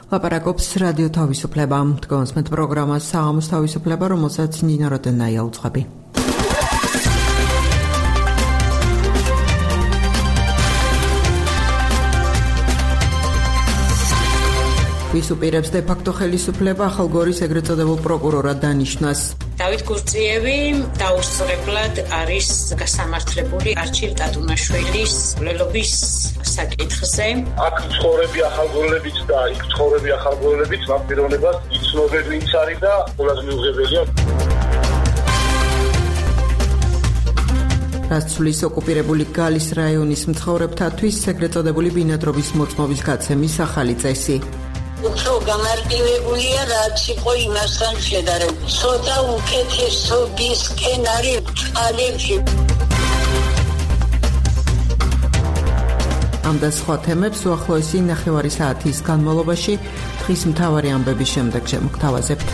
ლაპარაკობს რადიო თავისუფლება. დგომს met პროგრამას საღამოს თავისუფლება, რომელსაც ნინო როდენაია უძღვები. ვის უპირებს de facto ხელისუფლება ახალ გორის ეგრეთ წოდებულ პროკურორად დანიშნას. დავით გურწიევი დაუსწრებლად არის გასამართლებული არჩილ ტატუნაშვილის მკვლელობის საკითხზე. აქ ცხოვრები ახალგორლებიც და იქ ცხოვრები ახალგორლებიც ამ პიროვნებას იცნობენ ვინც არის და ყველაზე მიუღებელია. რასცვლის ოკუპირებული გალის რაიონის მცხოვრებთათვის ეგრეთ წოდებული ბინადრობის მოწმობის გაცემის ახალი წესი. უფრო გამარტივებულია რაც იყო იმასთან შედარებით. ცოტა უკეთესობისკენ არის წყალებში. ამ და სხვა თემებს უახლოესი 9 საათის განმავლობაში დღის მთავარი ამბების შემდეგ შემოგთავაზებთ.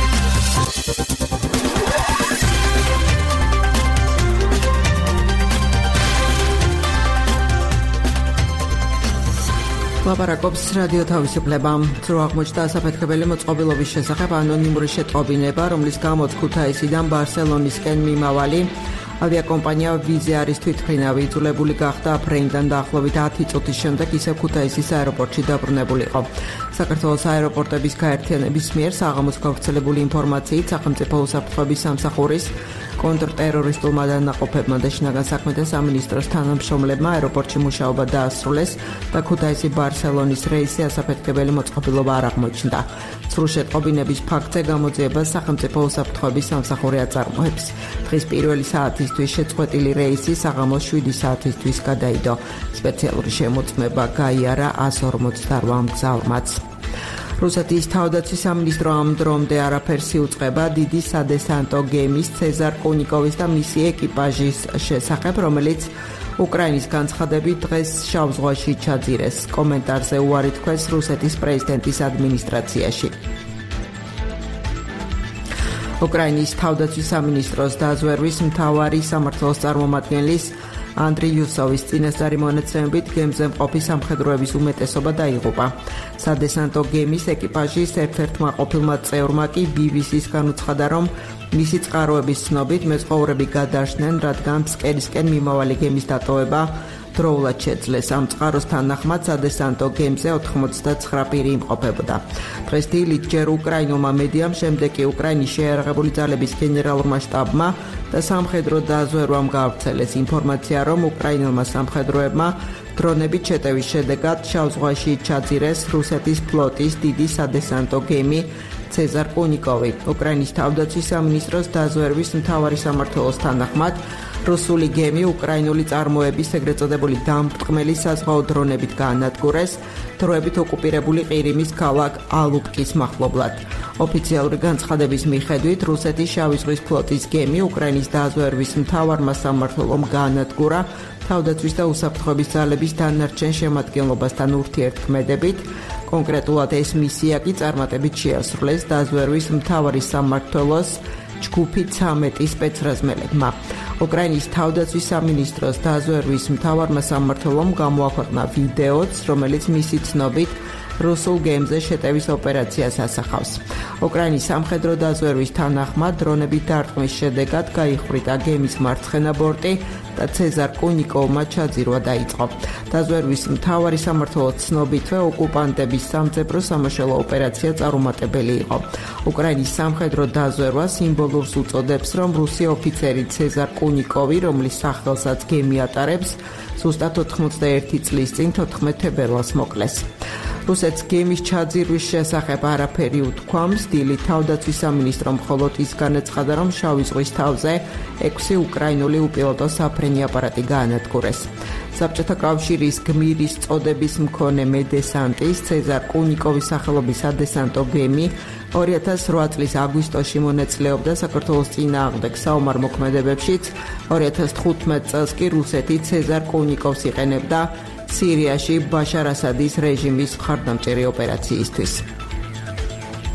ლაპარაკობს რადიო თავისუფლება. ძრო აღმოჩნდა ასაფეთქებელი მოწყობილობის შესახებ ანონიმური შეტყობინება, რომლის გამოც ქუთაისიდან ბარსელონისკენ მიმავალი ავიაკომპანია ვიზა არის თვითმფრინავი იძულებული გახდა ფრენიდან დაახლოებით 10 წუთის შემდეგ ისევ ქუთაისის აეროპორტში დაბრუნებული იყო. საქართველოს აეროპორტების გაერთიანების მიერ საღამოს გავრცელებული ინფორმაციით სახელმწიფო უსაფრთხოების სამსახურის კონტრტერორისტულმა დანაყოფებმა და შინაგან საქმეთა სამინისტროს თანამშრომლებმა აეროპორტში მუშაობა დაასრულეს და ქუთაისი ბარსელონის რეისი ასაფეთქებელი მოწყობილობა არ აღმოჩნდა. სრულ შეტყობინების ფაქტზე გამოძიებას სახელმწიფო უსაფრთხოების სამსახური აწარმოებს. დღის პირველი საათისთვის შეწყვეტილი რეისი საღამოს 7 საათისთვის გადაიდო. სპეციალური შემოწმება გაიარა 158 მგზავრმაც. რუსეთის თავდაცვის სამინისტრო ამ დრომდე არაფერს იუწყება დიდი სადესანტო გემის ცეზარ კუნიკოვის და მისი ეკიპაჟის შესახებ, რომელიც უკრაინის განცხადებით დღეს შავ ზღვაში ჩაძირეს. კომენტარზე უარი თქვეს რუსეთის პრეზიდენტის ადმინისტრაციაში. უკრაინის თავდაცვის სამინისტროს დაზვერვის მთავარი სამმართველოს წარმომადგენლის ანდრი იუსოვის წინასწარი მონაცემებით გემზე მყოფი სამხედროების უმეტესობა დაიღუპა. სადესანტო გემის ეკიპაჟის ერთ-ერთმა ყოფილმა წევრმა კი BBC-სგან უცხადა, რომ მისი წყაროების ცნობით მეზღვაურები გადარჩნენ, რადგან ფსკერისკენ მიმავალი გემის დატოვება დროულად შეძლეს. ამ წყაროს თანახმად სადესანტო გემზე 89 პირი იმყოფებოდა. დღეს დილით ჯერ უკრაინულმა მედიამ, შემდეგ კი უკრაინის შეიარაღებული ძალების გენერალურმა შტაბმა და სამხედრო დაზვერვამ გაავრცელეს ინფორმაცია, რომ უკრაინულმა სამხედროებმა დრონებით შეტევის შედეგად შავ ზღვაში ჩაძირეს რუსეთის ფლოტის დიდი სადესანტო გემი ცეზარ კუნიკოვი. უკრაინის თავდაცვის სამინისტროს დაზვერვის მთავარი სამმართველოს თანახმად რუსული გემი უკრაინული წარმოების ეგრეთ წოდებული დამბრტყმელი საზღვაო დრონებით გაანადგურეს, დროებით ოკუპირებული ყირიმის ქალაქ ალუპკის მახლობლად. ოფიციალური განცხადების მიხედვით რუსეთის შავი ზღვის ფლოტის გემი უკრაინის დაზვერვის მთავარმა სამმართველომ გაანადგურა თავდაცვის და უსაფრთხოების ძალების დანარჩენ შემადგენლობასთან ურთიერთქმედებით. კონკრეტულად ეს მისია კი წარმატებით შეასრულეს დაზვერვის მთავარი სამმართველოს ჯგუფი 13 სპეცრაზმელებმა. უკრაინის თავდაცვის სამინისტროს დაზვერვის მთავარმა სამმართველომ გამოაქვეყნა ვიდეოც, რომელიც მისი ცნობით რუსულ გემზე შეტევის ოპერაციას ასახავს. უკრაინის სამხედრო დაზვერვის თანახმად დრონებით დარტყმის შედეგად გაიხვრიტა გემის მარცხენა ბორტი და ცეზარ კუნიკოვმა ჩაძირვა დაიწყო. დაზვერვის მთავარი სამმართველოს ცნობითვე ოკუპანტების სამძებრო სამაშველო ოპერაცია წარუმატებელი იყო. უკრაინის სამხედრო დაზვერვა სიმბოლურს უწოდებს, რომ რუსი ოფიცერი ცეზარ კუნიკოვი, რომლის სახელსაც გემი ატარებს, ზუსტად 91 წლის წინ 14 თებერვალს მოკლეს. რუსეთს გემის ჩაძირვის შესახებ არაფერი უთქვამს. დილით თავდაცვის სამინისტრო მხოლოდ ის განაცხადა, რომ შავი ზღვის თავზე 6 უკრაინული უპილოტო საფრენი აპარატი გაანადგურეს. საბჭოთა კავშირის გმირის წოდების მქონე მედესანტის ცეზარ კუნიკოვის სახელობის სადესანტო გემი 2008 წლის აგვისტოში მონაწილეობდა საქართველოს წინააღმდეგ საომარ მოქმედებებშიც. 2015 წელს კი რუსეთი ცეზარ კუნიკოვს იყენებდა სირიაში ბაშარ ასადის რეჟიმის მხარდამჭერი ოპერაციისთვის.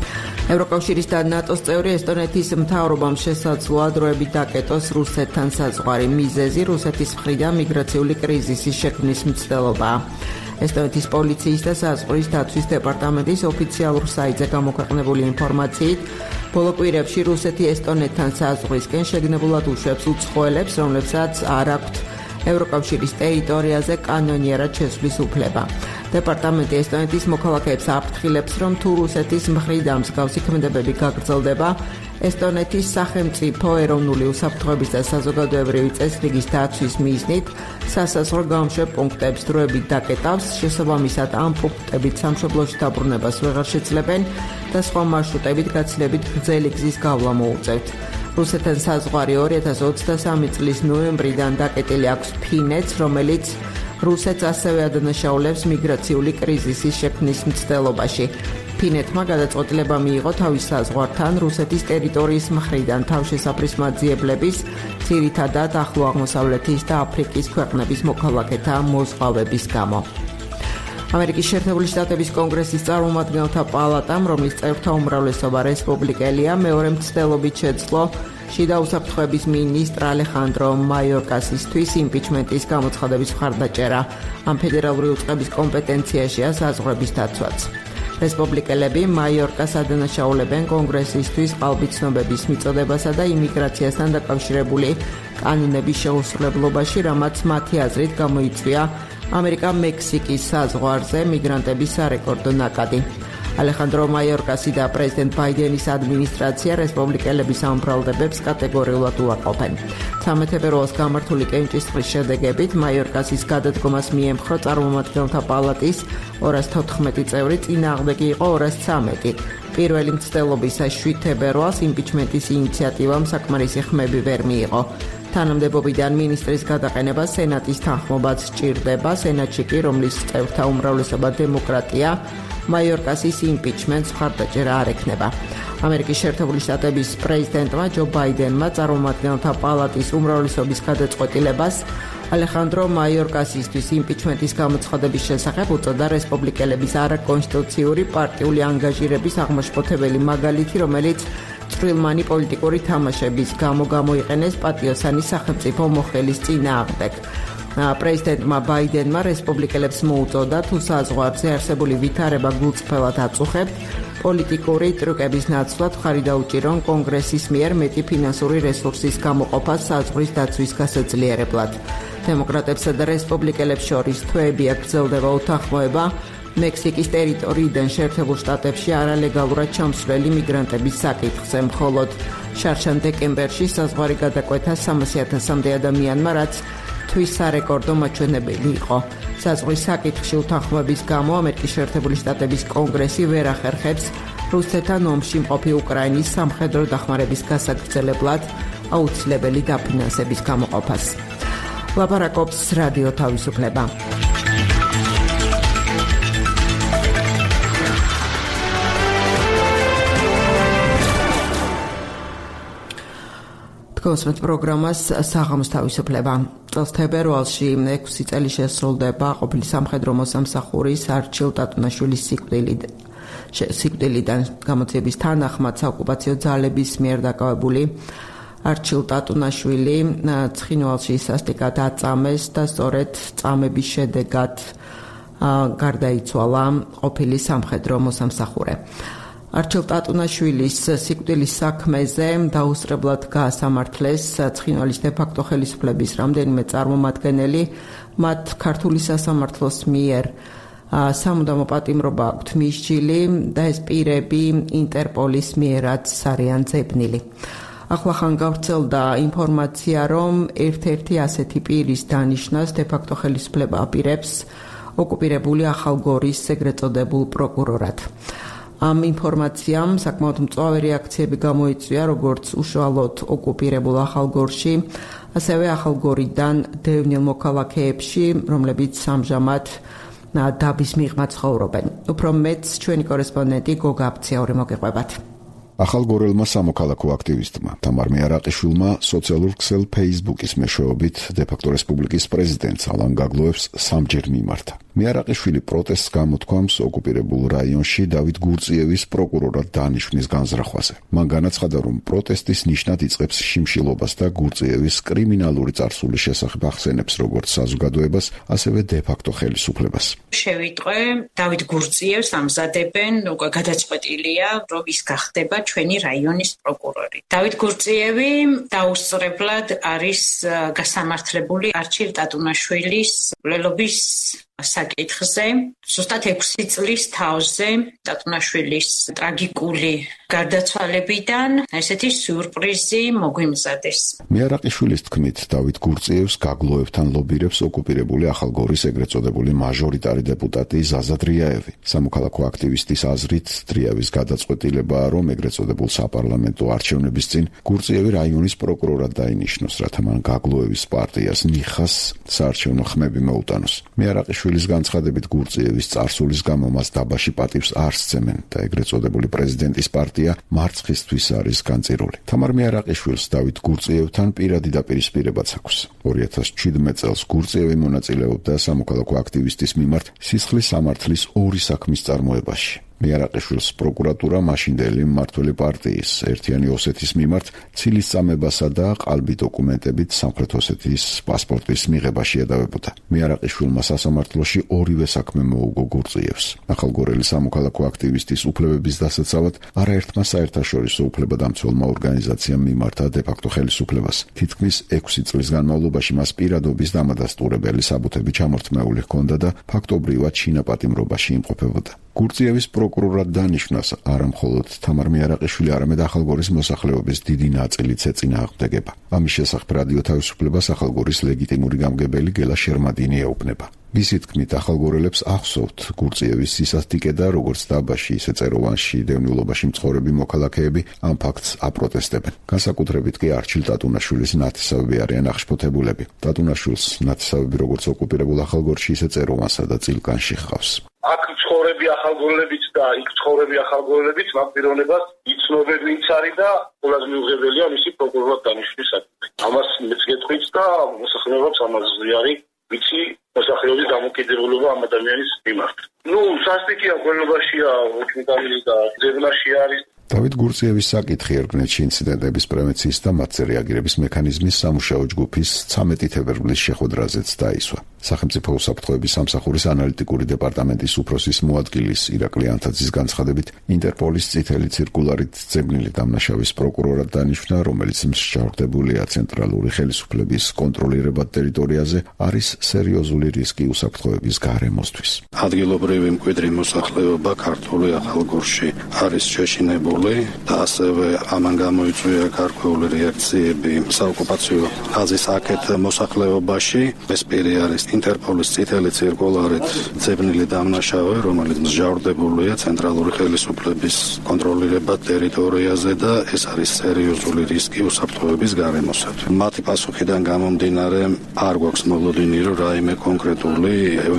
ევროკავშირის და ნატოს წევრი ესტონეთის მთავრობამ შესაძლოა დროებით დაკეტოს რუსეთთან საზღვარი. მიზეზი რუსეთის მხრიდან მიგრაციული კრიზისის შექმნის მცდელობაა. ესტონეთის პოლიციის და საზღვრის დაცვის დეპარტამენტის ოფიციალურ საიტზე გამოქვეყნებული ინფორმაციით, ბოლო კვირებში რუსეთი ესტონეთთან საზღვრისკენ შეგნებულად უშვებს უცხოელებს, რომლებსაც არ აქვთ ევროკავშირის ტერიტორიაზე კანონიერად შესვლის უფლება. დეპარტამენტი ესტონეთის მოქალაქეებს აფრთხილებს, რომ თუ რუსეთის მხრიდან მსგავსი ქმედებები გაგრძელდება, ესტონეთის სახელმწიფო ეროვნული უსაფრთხოების და საზოგადოებრივი წესრიგის დაცვის მიზნით სასაზღვრო გამშვებ პუნქტებს დროებით დაკეტავს, შესაბამისად ამ პუნქტებით სამშობლოში დაბრუნებას ვეღარ შეძლებენ და სხვა მარშრუტებით გაცილებით გრძელი გზის გავლა მოუწევთ. რუსეთთან საზღვარი 2023 წლის ნოემბრიდან დაკეტილი აქვს ფინეთს, რომელიც რუსეთს ასევე ადანაშაულებს მიგრაციული კრიზისის შექმნის მცდელობაში. ფინეთმა გადაწყვეტილება მიიღო თავის საზღვართან რუსეთის ტერიტორიის მხრიდან თავშესაფრის მაძიებლების, ძირითადად ახლო აღმოსავლეთის და აფრიკის ქვეყნების მოქალაქეთა მოზღვავების გამო. ამერიკის შეერთებული შტატების კონგრესის წარმომადგენელთა პალატამ, რომლის წევრთა უმრავლესობა რესპუბლიკელია, მეორე მცდელობით შეძლო შიდა უსაფრთხოების მინისტრ ალეხანდრო მაიორკასისთვის იმპიჩმენტის გამოცხადების მხარდაჭერა. ამ ფედერალური უწყების კომპეტენციაშია საზღვრების დაცვაც. რესპუბლიკელები მაიორკას ადანაშაულებენ კონგრესისთვის ყალბიცნობების მიწოდებასა და იმიგრაციასთან დაკავშირებული კანონების შეუსრულებლობაში, რამაც მათი აზრით გამოიწვია ამერიკა-მექსიკის საზღვარზე მიგრანტების სარეკორდო ნაკადი. ალეხანდრო მაიორკასი და პრეზიდენტ ბაიდენის ადმინისტრაცია რესპუბლიკელების ამ ბრალდებებს კატეგორიულად უარყოფენ. 13 ფებრუარს გამართული კენჭისყრის შედეგებით მაიორკასის გადადგომას მიემხრო წარმომადგენელთა პალატის 214 წევრი, წინააღმდეგი იყო 213. პირველი მცდელობისას 7 ფებრუარს იმპიჩმენტის ინიციატივამ საკმარისი ხმები ვერ მიიღო. თანამდებობიდან მინისტრის გადაყენება სენატის თანხმობაც სჭირდება. სენატში კი, რომლის წევრთა უმრავლესობა დემოკრატია, მაიორკასის იმპიჩმენტს მხარდაჭერა არ ექნება. ამერიკის შეერთებული შტატების პრეზიდენტმა ჯო ბაიდენმა წარმომადგენელთა პალატის უმრავლესობის გადაწყვეტილებას ალეხანდრო მაიორკასისთვის იმპიჩმენტის გამოცხადების შესახებ უწოდა რესპუბლიკელების არაკონსტიტუციური პარტიული ანგაჟირების აღმაშფოთებელი მაგალითი, რომელიც წვრილმანი პოლიტიკური თამაშების გამო გამოიყენეს პატიოსანი სახელმწიფო მოხელის წინააღმდეგ. პრეზიდენტმა ბაიდენმა რესპუბლიკელებს მოუწოდა, თუ საზღვარზე არსებული ვითარება გულწრფელად აწუხებთ, პოლიტიკური ტრიუკების ნაცვლად მხარი დაუჭირონ კონგრესის მიერ მეტი ფინანსური რესურსის გამოყოფას საზღვრის დაცვის გასაძლიერებლად. დემოკრატებსა და რესპუბლიკელებს შორის თვეებია გრძელდება უთანხმოება მექსიკის ტერიტორიიდან შეერთებულ შტატებში არალეგალურად ჩამსვლელი მიგრანტების საკითხზე. მხოლოდ შარშან დეკემბერში საზღვარი გადაკვეთა 300,000-მდე ადამიანმა, რაც თვის სარეკორდო მაჩვენებელი იყო. საზღვრის საკითხში უთანხმოების გამო ამერიკის შეერთებული შტატების კონგრესი ვერ ახერხებს რუსეთთან ომში მყოფი უკრაინის სამხედრო დახმარების გასაგრძელებლად აუცილებელი დაფინანსების გამოყოფას. ლაპარაკობს რადიო თავისუფლება. გოსმეთ პროგრამას საღამოს თავისუფლება. წელს თებერვალში 6 წელი შესრულდება ყოფილი სამხედრო მოსამსახურის არჩილ ტატუნაშვილის სიკვდილიდან გამოძიების თანახმად საოკუპაციო ძალების მიერ დაკავებული არჩილ ტატუნაშვილი ცხინვალში სასტიკად აწამეს და სწორედ წამების შედეგად გარდაიცვალა ყოფილი სამხედრო მოსამსახურე. არჩილ ტატუნაშვილის სიკვდილის საქმეზე დაუსწრებლად გაასამართლეს ცხინვალის დე-ფაქტო ხელისუფლების რამდენიმე წარმომადგენელი, მათ ქართული სასამართლოს მიერ სამუდამო პატიმრობა აქვთ მისჯილი და ეს პირები ინტერპოლის მიერაც არიან ძებნილი. ახლახან გავრცელდა ინფორმაცია, რომ ერთ-ერთი ასეთი პირის დანიშვნას დე-ფაქტო ხელისუფლება აპირებს ოკუპირებული ახალგორის ეგრეთ წოდებულ პროკურორად. ამ ინფორმაციამ საკმაოდ მწვავე რეაქციები გამოიწვია როგორც უშუალოდ ოკუპირებულ ახალგორში, ასევე ახალგორიდან დევნილ მოქალაქეებში, რომლებიც ამჟამად დაბის მიღმა ცხოვრობენ. უფრო მეც ჩვენი კორესპონდენტი გოგა აფციური მოგეყვებათ. ახალგორელმა სამოქალაქო აქტივისტმა თამარ მეარაყიშვილმა სოციალურ ქსელ Facebook-ის მეშვეობით დე-ფაქტო რესპუბლიკის პრეზიდენტს ალან გაგლოევს 3 ჯერ მიმართა. მიარაყიშვილი პროტესტს გამოთქვამს ოკუპირებულ რაიონში დავით გურწიევის პროკურორად დანიშვნის განზრახვაზე. მან განაცხადა, რომ პროტესტის ნიშნად იწყებს შიმშილობას და გურწიევის კრიმინალური წარსულის შესახებ ახსენებს როგორც საზოგადოებას, ასევე დე-ფაქტო ხელისუფლებას. შევიტყვე დავით გურწიევს ამზადებენ, უკვე გადაწყვეტილია, რომ ის გახდება ჩვენი რაიონის პროკურორი. დავით გურწიევი დაუსწრებლად არის გასამართლებული არჩილ ტატუნაშვილის მკვლელობის საკითხზე. ზუსტად 6 წლის თავზე ტატუნაშვილის ტრაგიკული გარდაცვალებიდან ესეთი სიურპრიზი მოგვიმზადეს. მიარაყიშვილის თქმით, დავით გურწიევს გაგლოებთან ლობირებს ოკუპირებული ახალგორის ეგრეთ წოდებული მაჟორიტარი დეპუტატი ზაზა დრიაევი. სამოქალაქო აქტივისტის აზრით, დრიაევის გადაწყვეტილებაა, რომ ეგრეთ წოდებულ საპარლამენტო არჩევნების წინ გურწიევი რაიონის პროკურორად დაინიშნოს, რათა მან გაგლოევის პარტიას ნიხას საარჩევნო ხმები მოუტანოს. მიარაყიშვილის განცხადებით, გურწიევის წარსულის გამო მას დაბაში პატივს არ სცემენ და ეგრეთ წოდებული პრეზიდენტის პარტია მარცხისთვის არის განწირული. თამარ მიარაყიშვილს დავით გურწიევთან პირადი დაპირისპირებაც აქვს. 2017 წელს გურწიევი მონაწილეობდა სამოქალაქო აქტივისტის მიმართ სისხლის სამართლის 2 საქმის წარმოებაში. მიარაყიშვილს პროკურატურა მაშინდელი მმართველი პარტიის ერთიანი ოსეთის მიმართ ცილის წამებასა და ყალბი დოკუმენტებით სამხრეთ ოსეთის პასპორტის მიღებაში ედავებოდა. მიარაყიშვილმა სასამართლოში ორივე საქმე მოუგო გურწიევს. ახალგორელი სამოქალაქო აქტივისტის უფლებების დასაცავად არაერთმა საერთაშორისო უფლებადამცველმა ორგანიზაციამ მიმართა დე-ფაქტო ხელისუფლებას. თითქმის 6 წლის განმავლობაში მას პირადობის დამადასტურებელი საბუთები ჩამორთმეული ჰქონდა და ფაქტობრივად შინაპატიმრობაში იმყოფებოდა. გურწიევის პროკურორად დანიშვნას არა მხოლოდ თამარ მიარაყიშვილი, არამედ ახალგორის მოსახლეობის დიდი ნაწილიც ეწინააღმდეგება. ამის შესახებ რადიო თავისუფლებას ახალგორის ლეგიტიმური გამგებელი გელა შერმადინი ეუბნება. მისი თქმით, ახალგორელებს ახსოვთ გურწიევის სისასტიკე და როგორც დაბაში, ისე წეროვანში დევნილობაში მცხოვრები მოქალაქეები ამ ფაქტს აპროტესტებენ. განსაკუთრებით კი არჩილ ტატუნაშვილის ნათესავები არიან აღშფოთებულები. ტატუნაშვილს ნათესავები როგორც ოკუპირებულ ახალგორში, ისე წეროვანსა და წილკანში ჰყავს. აქ ცხოვრები ახალგორელებიც და იქ ცხოვრები ახალგორელებიც მაგ პიროვნებას იცნობენ ვინც არის და ყველაზე მიუღებელია მისი პროკურორად დანიშვნის საკითხი. ამას მეც გეტყვით და მოსახლეობაც ამაზე არის ვიცი მოსახლეობის დამოკიდებულება ამ ადამიანის მიმართ. სასტიკია ყველებაშია, მოქმედანი და ძებნაში არის. დავით გურწიევის საკითხი ერგნეთში ინციდენტების პრევენციის და მათზე რეაგირების მექანიზმის სამუშაო ჯგუფის 13 თებერვლის შეხვედრაზეც დაისვა. სახელმწიფო უსაფრთხოების სამსახურის ანალიტიკური დეპარტამენტის უფროსის მოადგილის ირაკლი ანთაძის განცხადებით, ინტერპოლის წითელი ციρკულარით ძებნილი დამნაშავის პროკურორად დანიშნა, რომელიც მსჯავრდებულია ცენტრალური ხელისუფლების კონტროლირებად ტერიტორიაზე, არის სერიოზული რისკი უსაფრთხოების გარემოსთვის. ადგილობრივი მკვიდრი მოსახლეობა ქართული ახალგორში არის შეშინებული და ასევე ამან გამოიწვია გარკვეული რეაქციები საოკუპაციო ხაზის აქეთ მოსახლეობაში. ეს პირი არის ინტერპოლის წითელი ციрკულარით ძებნილი დამნაშავე, რომელიც მსჯავრდებულია ცენტრალური ხელისუფლების კონტროლირებად ტერიტორიაზე და ეს არის სერიოზული რისკი უსაფრთხოების გარემოსთვის. მათი პასუხიდან გამომდინარე არ გვაქვს მოლოდინი, რომ რაიმე კონკრეტული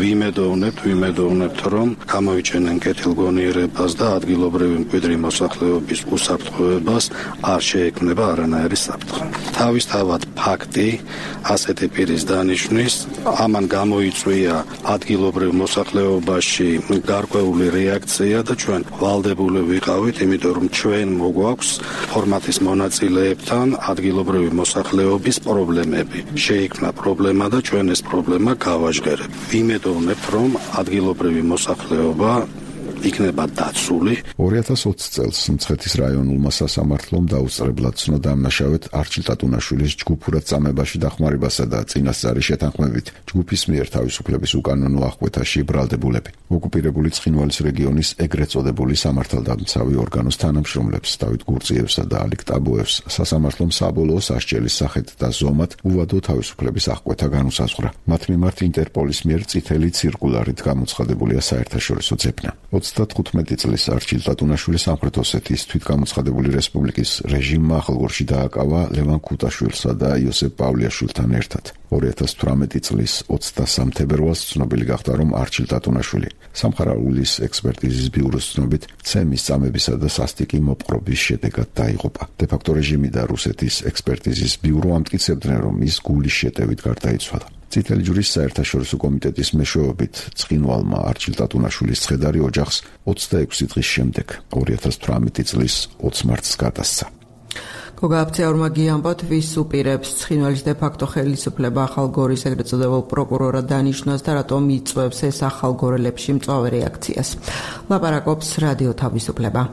ვიმედოვნებთ, რომ გამოიჩენენ კეთილგონიერებას და ადგილობრივი მკვიდრი მოსახლეობის უსაფრთხოებას არ შეექმნება არანაირი საფრთხე. თავისთავად ფაქტი ასეთი პირის დანიშვნის ამან გამოიწვია ადგილობრივ მოსახლეობაში გარკვეული რეაქცია და ჩვენ ვალდებული ვიყავით, იმიტომ რომ ჩვენ მოგვაქვს ფორმატის მონაწილეებთან ადგილობრივი მოსახლეობის პრობლემები. შეიქმნა პრობლემა და ჩვენ ეს პრობლემა გავაჟღერებთ. ვიმედოვნებთ, რომ ადგილობრივი მოსახლეობა იქნება დაცული. 2020 წელს მცხეთის რაიონულმა სასამართლომ დაუსწრებლად ცნო დამნაშავედ არჩილ ტატუნაშვილის ჯგუფურად წამებაში დახმარებასა და წინასწარი შეთანხმებით ჯგუფის მიერ თავისუფლების უკანონო აღკვეთაში ბრალდებულები. ოკუპირებული ცხინვალის რეგიონის ეგრეთ წოდებული სამართალდამცავი ორგანოს თანამშრომლებს დავით გურწიევსა და ალიკ ტაბოევს სასამართლომ საბოლოო სასჯელის სახით და ზომად უვადო თავისუფლების აღკვეთა განუსაზღვრა. მათ მიმართ ინტერპოლის მიერ წითელი ციрკულარით გამოცხადებულია საერთაშორისო ძებნა. 35 წლის არჩილ ტატუნაშვილი სამხრეთ ოსეთის თვითგამოცხადებული რესპუბლიკის რეჟიმმა ახალგორში დააკავა ლევან ქუტაშვილსა და იოსებ პავლიაშვილთან ერთად. 2018 წლის 23 თებერვალს ცნობილი გახდა, რომ არჩილ ტატუნაშვილი სამხარაულის ექსპერტიზის ბიუროს ცნობით ცემის წამებისა და სასტიკი მოპყრობის შედეგად დაიღუპა. დე-ფაქტო რეჟიმი და რუსეთის ექსპერტიზის ბიურო ამტკიცებდნენ, რომ ის გულის შეტევით გარდაიცვალა. წითელი ჯვრის საერთაშორისო კომიტეტის მეშვეობით ცხინვალმა არჩილ ტატუნაშვილის ცხედარი ოჯახს 26 დღის შემდეგ 2018 წლის 20 მარტს გადასცა. გოგა აფცეორმა გიამბოთ, ვის უპირებს ცხინვალის დე-ფაქტო ხელისუფლება ახალგორის ეგრეთ წოდებულ პროკურორად დანიშნოს და რატომ იწვევს ეს ახალგორელებში მწვავე რეაქციას. ლაპარაკობს რადიო თავისუფლება.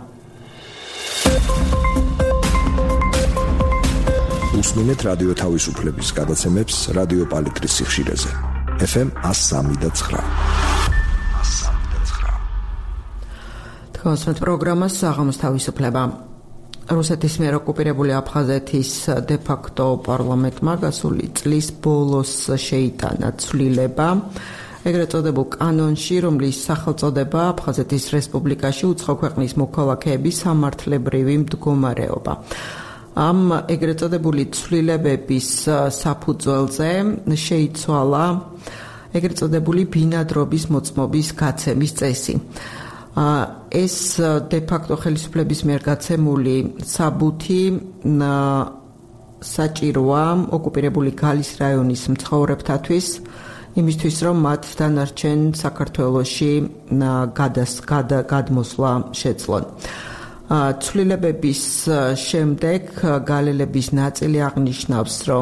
უსმინეთ რადიო თავისუფლების გადაცემებს რადიო პალიტრის სიხშირეზე. FM 103.9. თქვენს პროგრამას საღამოს თავისუფლება. რუსეთის მიერ ოკუპირებული აფხაზეთის დე-ფაქტო პარლამენტმა გასული წლის ბოლოს შეიტანა ცვლილება ეგრეთ წოდებულ კანონში, რომლის სახელწოდება აფხაზეთის რესპუბლიკაში უცხო ქვეყნის მოქალაქეების სამართლებრივი მდგომარეობა. ამ ეგრეთ წოდებული ცვლილებების საფუძველზე შეიცვალა ეგრეთ წოდებული ბინადრობის მოწმობის გაცემის წესი. ეს დე-ფაქტო ხელისუფლების მიერ გაცემული საბუთი საჭიროა ოკუპირებული გალის რაიონის მცხოვრებთათვის, იმისთვის რომ მათ დანარჩენ საქართველოში გადმოსვლა შეძლონ. ცვლილებების შემდეგ გალელების ნაწილი აღნიშნავს, რომ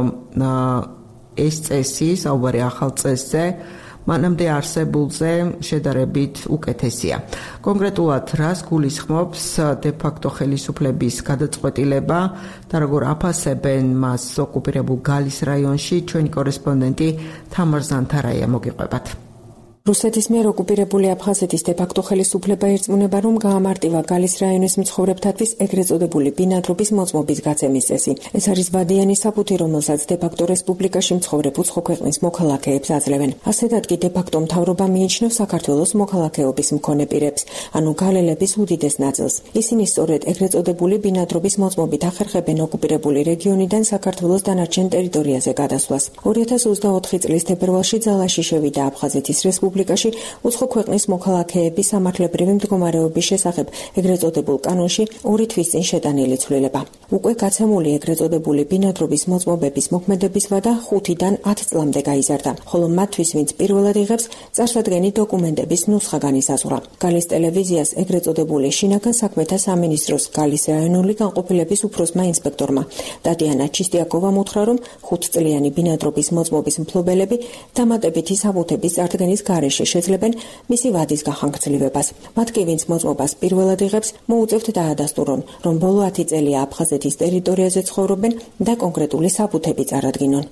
ეს წესი, საუბარი ახალ წესზე, მანამდე არსებულზე შედარებით უკეთესია. კონკრეტულად რას გულისხმობს დე-ფაქტო ხელისუფლების გადაწყვეტილება და როგორ აფასებენ მას ოკუპირებულ გალის რაიონში, ჩვენი კორესპონდენტი თამარ ზანთარაია მოგიყვებათ. რუსეთის მიერ ოკუპირებული აფხაზეთის დე-ფაქტო ხელისუფლება ერწმუნება, რომ გაამარტივა გალის რაიონის მცხოვრებთათვის ეგრეთ წოდებული ბინადრობის მოწმობის გაცემის წესი. ეს არის ვადიანი საბუთი, რომელსაც დე-ფაქტო რესპუბლიკაში მცხოვრებ უცხო ქვეყნის მოქალაქეებს აძლევენ. ასეთად კი დე-ფაქტო მთავრობა მიიჩნევს საქართველოს მოქალაქეობის მქონე პირებს, ანუ გალელების უდიდეს ნაწილს. ისინი სწორედ ეგრეთ წოდებული ბინადრობის მოწმობით ახერხებენ ოკუპირებული რეგიონიდან საქართველოს დანარჩენ ტერიტორიაზე გადასვლას. 2024 წლის თებერვალში ძალაში შევიდა აფხაზეთის რესპუბლიკაში უცხო ქვეყნის მოქალაქეების სამართლებრივი მდგომარეობის შესახებ ეგრეთ წოდებულ კანონში 2 თვის წინ შეტანილი ცვლილება. უკვე გაცემული ეგრეთ წოდებული ბინადრობის მოწმობების მოქმედების ვადა 5-დან 10 წლამდე გაიზარდა, ხოლო მათთვის, ვინც პირველად იღებს, წარსადგენი დოკუმენტების ნუსხა განისაზღვრა. გალის ტელევიზიას ეგრეთ წოდებული შინაგან საქმეთა სამინისტროს გალის რაიონული განყოფილების უფროსმა ინსპექტორმა ტატიანა ჩისტიაკოვამ უთხრა, რომ 5 წლიანი ბინადრობის მოწმობის მფლობელები დამატებითი საბუთების წარდგენის გარეშე შეძლებენ მისი ვადის გახანგრძლივებას. მათ კი, ვინც მოწმობას პირველად იღებს, მოუწევთ დაადასტურონ, რომ ბოლო 10 წელია აფხაზეთის ტერიტორიაზე ცხოვრობენ და კონკრეტული საბუთები წარადგინონ.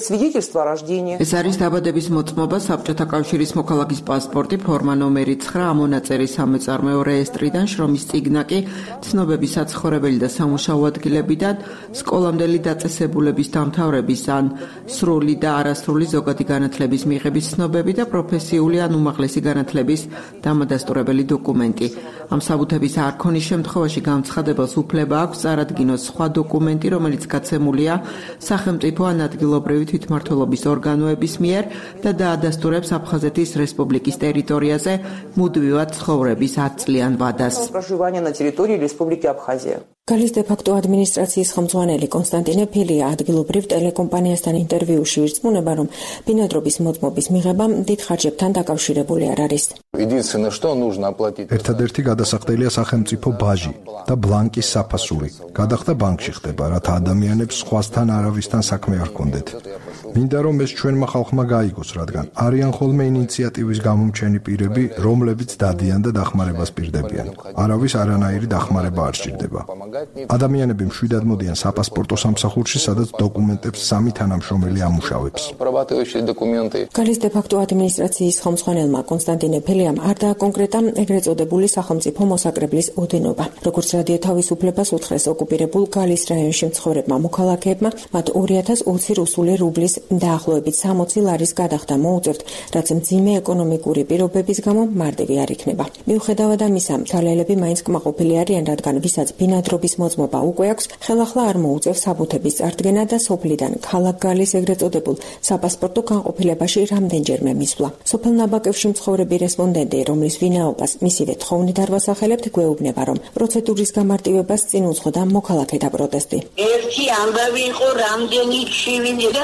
ეს არის დაბადების მოწმობა, საბჭოთა კავშირის მოქალაქის პასპორტი, ფორმა ნომერი 9, ამონაწერი სამეწარმეო რეესტრიდან, შრომის წიგნა კი ცნობები საცხოვრებელი და სამუშაო ადგილებიდან, სკოლამდელი დაწესებულების დამთავრების ან სრული და არასრული ზოგადი განათლების მიღების ცნობები და პროფესიული ან უმაღლესი განათლების დამადასტურებელი დოკუმენტი. ამ საბუთების არ ქონის შემთხვევაში განცხადებელს უფლება აქვს წარადგინოს სხვა დოკუმენტი, რომელიც გაცემულია სახელმწიფო ან ადგილობრივი თვითმმართველობის ორგანოების მიერ და დაადასტურებს აფხაზეთის რესპუბლიკის ტერიტორიაზე მუდმივად ცხოვრების 10 წლიან ვადას. გალის დე-ფაქტო ადმინისტრაციის ხელმძღვანელი კონსტანტინე ფილია ადგილობრივ ტელეკომპანიასთან ინტერვიუში ირწმუნება, რომ ბინადრობის მოწმობის მიღება დიდ ხარჯებთან დაკავშირებული არ არის. ერთადერთი გადასახდელია სახელმწიფო ბაჟი და ბლანკის საფასური. გადახდა ბანკში ხდება, რათა ადამიანებს სხვასთან არავისთან საქმე არ ჰქონდეთ. მინდა რომ ეს ჩვენმა ხალხმა გაიგოს, რადგან არიან ხოლმე ინიციატივის გამომჩენი პირები, რომლებიც დადიან და დახმარებას პირდებიან. არავის არანაირი დახმარება არ სჭირდება. ადამიანები მშვიდად მოდიან საპასპორტო სამსახურში, სადაც დოკუმენტებს სამი თანამშრომელი ამუშავებს. გალის დე-ფაქტო ადმინისტრაციის ხელმძღვანელმა კონსტანტინე ფილიამ არ დააკონკრეტა ეგრეთ წოდებული სახელმწიფო მოსაკრებლის ოდენობა. როგორც რადიო თავისუფლებას უთხრეს ოკუპირებულ გალის რაიონში მცხოვრებმა მოქალაქეებმა, მათ 2020 რუსული რუბლის დაახლოებით 60 ლარის გადახდა მოუწევთ, რაც მძიმე ეკონომიკური პირობების გამო მარტივი არ იქნება. მიუხედავად ამისა, თვალელები მაინც კმაყოფილი არიან, რადგან ვისაც ბინადრობის მოწმობა უკვე აქვს, ხელახლა არ მოუწევს საბუთების წარდგენა და სოფლიდან ქალაქ გალის ეგრეთ წოდებულ საპასპორტო განყოფილებაში რამდენჯერმე მისვლა. სოფელ ნაბაკევში მცხოვრები რესპონდენტი, რომლის ვინაობას მისივე თხოვნით არ ვასახელებთ, გვეუბნება, რომ პროცედურის გამარტივებას წინ უძღოდა მოქალაქეთა პროტესტი. ერთი ამბავი იყო რამდენი ჩივილი და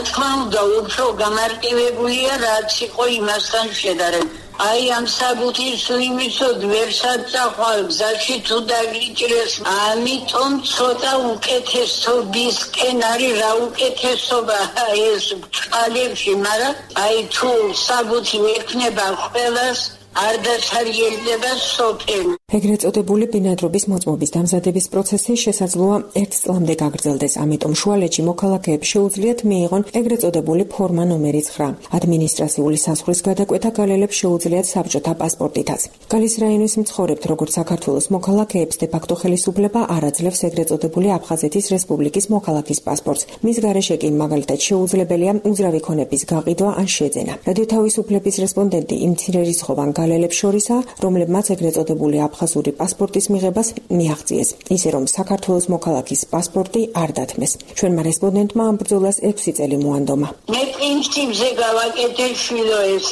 თქმა უნდა, უფრო გამარტივებულია, რაც იყო იმასთან შედარებით. აი ამ საბუთის იმისოდ ვერ საწახვალ გზაში თუ დაგიჭირეს, ამიტომ ცოტა უკეთესობისკენ არის რა უკეთესობა ეს წყალებში, მაგრამ აი თუ საბუთი ექნება ყველას არ დაცარიელდება სოფელი. ეგრეთ წოდებული ბინადრობის მოწმობის დამზადების პროცესი შესაძლოა 1 წლამდე გაგრძელდეს, ამიტომ შუალედში მოქალაქეებს შეუძლიათ მიიღონ ეგრეთ წოდებული ფორმა ნომერი 9. ადმინისტრაციული საზღვრის გადაკვეთა გალელებს შეუძლიათ საბჭოთა პასპორტითაც. გალის რაიონის მცხოვრებთ, როგორც საქართველოს მოქალაქეებს დე-ფაქტო ხელისუფლება არ აძლევს ეგრეთ წოდებული აფხაზეთის რესპუბლიკის მოქალაქის პასპორტს. მის გარეშე კი მაგალითად შეუძლებელია უძრავი ქონების გაყიდვა ან შეძენა. რადიო თავისუფლების რესპონდენტი იმ მცირერიცხოვან გალელებს შორისაა, რომლებმაც ეგრეთ წოდებული აფხაზური პასპორტის მიღებას მიაღწიეს, ისე რომ საქართველოს მოქალაქის პასპორტი არ დათმეს. ჩვენმა რესპონდენტმა ამ ბრძოლას 6 წელი მოანდომა. მე პრინციპზე გავაკეთე შვილო ეს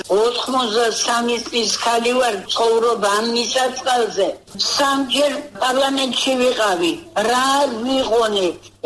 93 წლის ხალი ვარ, ცხოვრობ ამ მისაწყალზე. სამჯერ პარლამენტში ვიყავი, რა ვიყონე,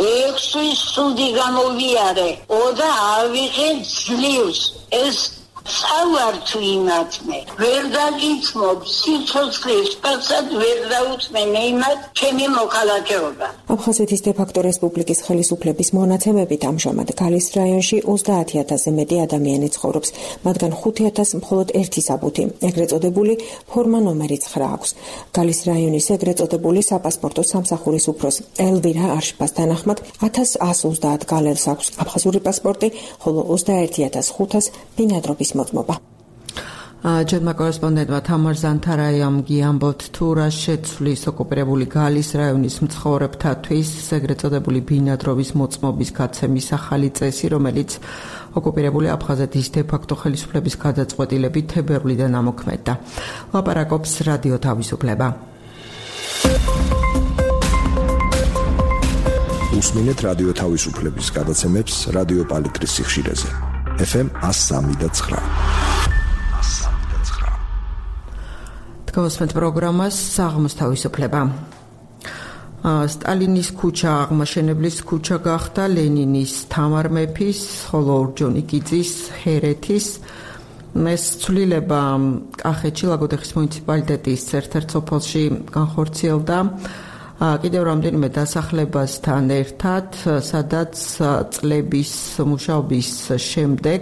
6 სუდი გამოვიარე, და ავიღე ძლივს. ეს სავარ თუ იმათმე, ვერ დაგიცნობ, სიცოცხლის პასად ვერ დაუწმე იმათ ჩემი მოქალაქეობა. აფხაზეთის დე-ფაქტო რესპუბლიკის ხელისუფლების მონაცემებით ამჟამად გალის რაიონში 30,000-ზე მეტი ადამიანი ცხოვრობს, მათგან 5,000 მხოლოდ ერთი საბუთი, ეგრეთ წოდებული ფორმა ნომერი 9 აქვს. გალის რაიონის ეგრეთ წოდებული საპასპორტო სამსახურის უფროს ელვირა არშფას თანახმად 1130 გალელს აქვს აფხაზური პასპორტი, ხოლო 21,500 ბინადრობის მოწმობა. ჩვენმა კორესპონდენტმა თამარ ზანთარაიამ გიამბობთ თუ რა შეცვლის ოკუპირებული გალის რაიონის მცხოვრებთათვის ეგრეთ წოდებული ბინადრობის მოწმობის გაცემის ახალი წესი, რომელიც ოკუპირებული აფხაზეთის დე-ფაქტო ხელისუფლების გადაწყვეტილებით თებერვლიდან ამოქმედდა. ლაპარაკობს რადიო თავისუფლება. უსმინეთ რადიო თავისუფლების გადაცემებს რადიო პალიტრის სიხშირეზე. FM 103.9. გასვენთ პროგრამას საღამოს თავისუფლება. სტალინის ქუჩა აღმაშენებლის ქუჩა გახდა ლენინის, თამარ მეფის, ხოლო ორჯონიკიძის, ჰერეთის. ეს ცვლილება კახეთში ლაგოდეხის მუნიციპალიტეტის ერთ-ერთ სოფელში განხორციელდა კიდევ რამდენიმე დასახლებასთან ერთად, სადაც წლების მუშაობის შემდეგ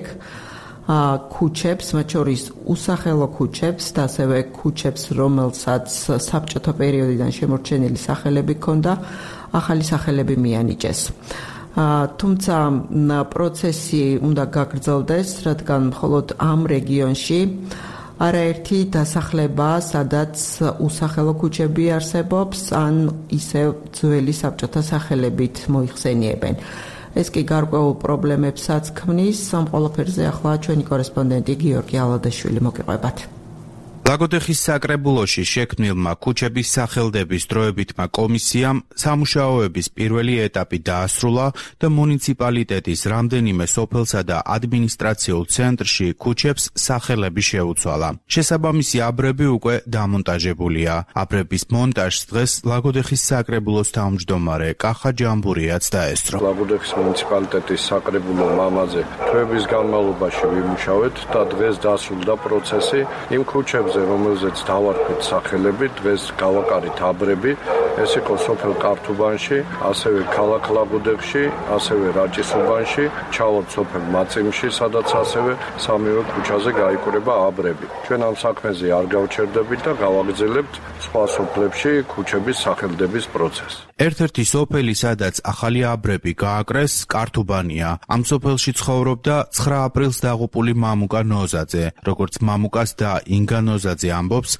ქუჩებს, მათ შორის უსახელო ქუჩებს და ასევე ქუჩებს, რომელსაც საბჭოთა პერიოდიდან შემორჩენილი სახელები ჰქონდა, ახალი სახელები მიანიჭეს. თუმცა პროცესი უნდა გაგრძელდეს, რადგან მხოლოდ ამ რეგიონში არაერთი დასახლება, სადაც უსახელო ქუჩები არსებობს, ან ისევ ძველი საბჭოთა სახელებით მოიხსენიებენ. ეს კი გარკვეულ პრობლემებსაც ქმნის. ამ ყველაფერზე ახლა ჩვენი კორესპონდენტი გიორგი ალადაშვილი მოგიყვებათ. ლაგოდეხის საკრებულოში შექმნილმა ქუჩების სახელდების დროებითმა კომისიამ სამუშაოების პირველი ეტაპი დაასრულა და მუნიციპალიტეტის რამდენიმე სოფელსა და ადმინისტრაციულ ცენტრში ქუჩებს სახელები შეუცვალა. შესაბამისი აბრები უკვე დამონტაჟებულია. აბრების მონტაჟს დღეს ლაგოდეხის საკრებულოს თავმჯდომარე კახა ჯამბურიაც დაესწრო. ლაგოდეხის მუნიციპალიტეტის საკრებულო მამაზე თვეების განმავლობაში ვიმუშავეთ და დღეს დასრულდა პროცესი იმ ქუჩებზე, რომელზეც დავარქვით სახელები, დღეს გავაკარით აბრები. ეს იყო სოფელ კართუბანში, ასევე ქალაქ ლაგოდეხში, ასევე რაჭისუბანში, ჩავართ სოფელ მაწიმში, სადაც ასევე სამივე ქუჩაზე გაიკვრება აბრები. ჩვენ ამ საქმეზე არ გავჩერდებით და გავაგრძელებთ სხვა სოფლებში ქუჩების სახელდების პროცესს. ერთ-ერთი სოფელი, სადაც ახალი აბრები გააკრეს, კართუბანია. ამ სოფელში ცხოვრობდა 9 აპრილს დაღუპული მამუკა ნოზაძე. როგორც მამუკას და ინგა ნოზაძე ამბობს,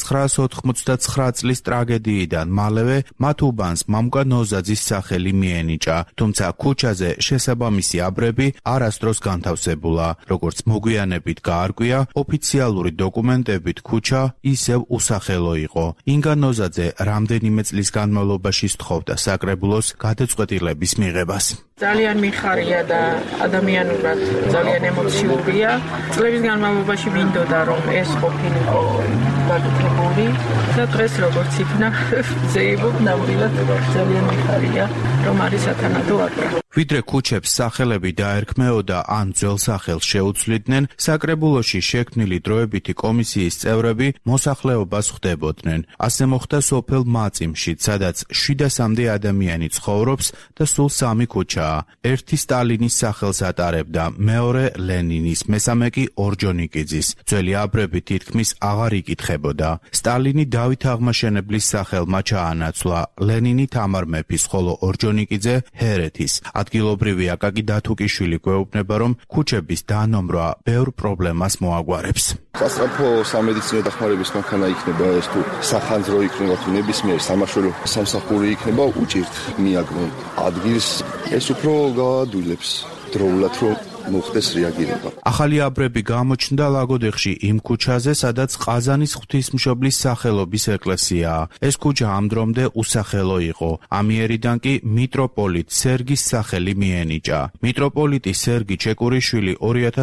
1989 წლის ტრაგედიიდან მალევე მათ უბანს მამუკა ნოზაძის სახელი მიენიჭა, თუმცა ქუჩაზე შესაბამისი აბრები არასდროს განთავსებულა. როგორც მოგვიანებით გაარკვია, ოფიციალური დოკუმენტებით ქუჩა ისევ უსახელო იყო. ინგა ნოზაძე რამდენიმე წლის განმავლობაში სთხოვდა საკრებულოს გადაწყვეტილების მიღებას. ძალიან მიხარია და ადამიანურად ძალიან ემოციურია. წლების განმავლობაში მინდოდა რომ ეს ყოფილიყო გაკეთებული და დღეს როგორც იქნა ზეიმობ ნამდვილად ძალიან მიხარია რომ არის სათანადო აკრა. ვიდრე ქუჩებს სახელები დაერქმეოდა ან ძველ სახელს შეუცვლიდნენ, საკრებულოში შექმნილი დროებითი კომისიის წევრები მოსახლეობას ხვდებოდნენ. ასე მოხდა სოფელ მაწიმში, სადაც 700-მდე ადამიანი ცხოვრობს და სულ 3 ქუჩაა. ერთი სტალინის სახელს ატარებდა, მეორე ლენინის, მესამე კი ორჯონიკიძის. ძველი აბრები თითქმის აღარ იკითხებოდა. სტალინი დავით აღმაშენებლის სახელმა ჩაანაცვლა, ლენინი თამარ მეფის, ხოლო ორჯონიკიძე ჰერეთის. ადგილობრივი აკაკი დათუკიშვილი გვეუბნება, რომ ქუჩების დანომრვა ბევრ პრობლემას მოაგვარებს. სასწრაფო სამედიცინო დახმარების მანქანა იქნება ეს თუ სახანძრო იქნება თუ ნებისმიერ სამაშველო სამსახური იქნება უჭირთ მიაგნონ ადგილს ეს უფრო გაადვილებს დროულად რომ მოხდეს რეაგირება. ახალი აბრები გამოჩნდა ლაგოდეხში იმ ქუჩაზე, სადაც ყაზანის ღვთისმშობლის სახელობის ეკლესიაა. ეს ქუჩა ამ დრომდე უსახელო იყო. ამიერიდან კი მიტროპოლიტ სერგის სახელი მიენიჭა. მიტროპოლიტი სერგი ჩეკურიშვილი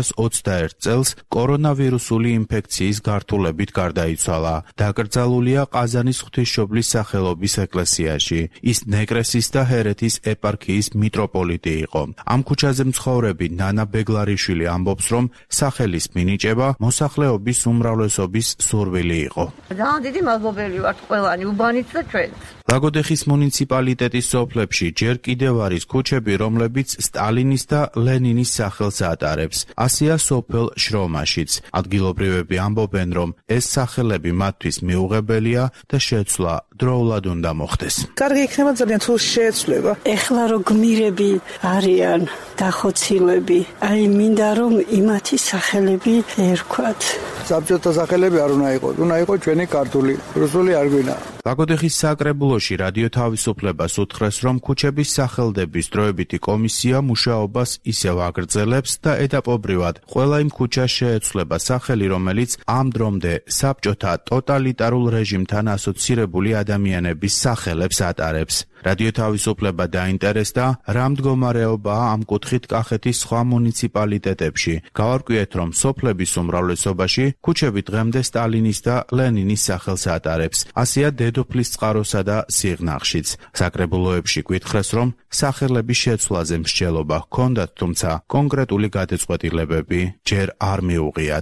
2021 წელს კორონავირუსული ინფექციის გართულებით გარდაიცვალა. დაკრძალულია ყაზანის ღვთისმშობლის სახელობის ეკლესიაში. ის ნეკრესის და ჰერეთის ეპარქიის მიტროპოლიტი იყო. ამ ქუჩაზე მცხოვრები ნანა ბეგლარიშვილი ამბობს, რომ სახელის მინიჭება მოსახლეობის უმრავლესობის სურვილი იყო. ძალიან დიდი მადლობელი ვართ ყველანი, უბანიც და ჩვენც. ლაგოდეხის მუნიციპალიტეტის სოფლებში ჯერ კიდევ არის ქუჩები, რომლებიც სტალინის და ლენინის სახელს ატარებს. ასეა სოფელ შრომაშიც. ადგილობრივები ამბობენ, რომ ეს სახელები მათთვის მიუღებელია და შეცვლა დროულად უნდა მოხდეს. კარგი იქნება ძალიან თუ შეეცვლება. ეხლა რო გმირები არიან დახოცილები, აი მინდა რომ იმათი სახელები ერქვათ. საბჭოთა სახელები არ უნდა იყოს, უნდა იყოს ჩვენი ქართული, რუსული არ გვინდა. ლაგოდეხის საკრებულოში რადიო თავისუფლებას უთხრეს, რომ ქუჩების სახელდების დროებითი კომისია მუშაობას ისევ აგრძელებს და ეტაპობრივად ყველა იმ ქუჩას შეეცვლება სახელი, რომელიც ამ დრომდე საბჭოთა ტოტალიტარულ რეჟიმთან ასოცირებული ადამიანების სახელებს ატარებს. რადიო თავისუფლება დაინტერესდა, რა მდგომარეობაა ამ კუთხით კახეთის სხვა მუნიციპალიტეტებში. გავარკვიეთ, რომ სოფლების უმრავლესობაში ქუჩები დღემდე სტალინის და ლენინის სახელს ატარებს. ასეა დედოფლის წყაროსა და სიღნაღშიც. საკრებულოებში გვითხრეს, რომ სახელების შეცვლაზე მსჯელობა ჰქონდათ, თუმცა კონკრეტული გადაწყვეტილებები ჯერ არ მიუღიათ.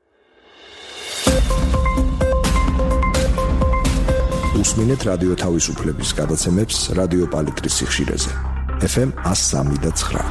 უსმინეთ რადიო თავისუფლების გადაცემებს რადიო პალიტრის სიხშირეზე. FM 103.9.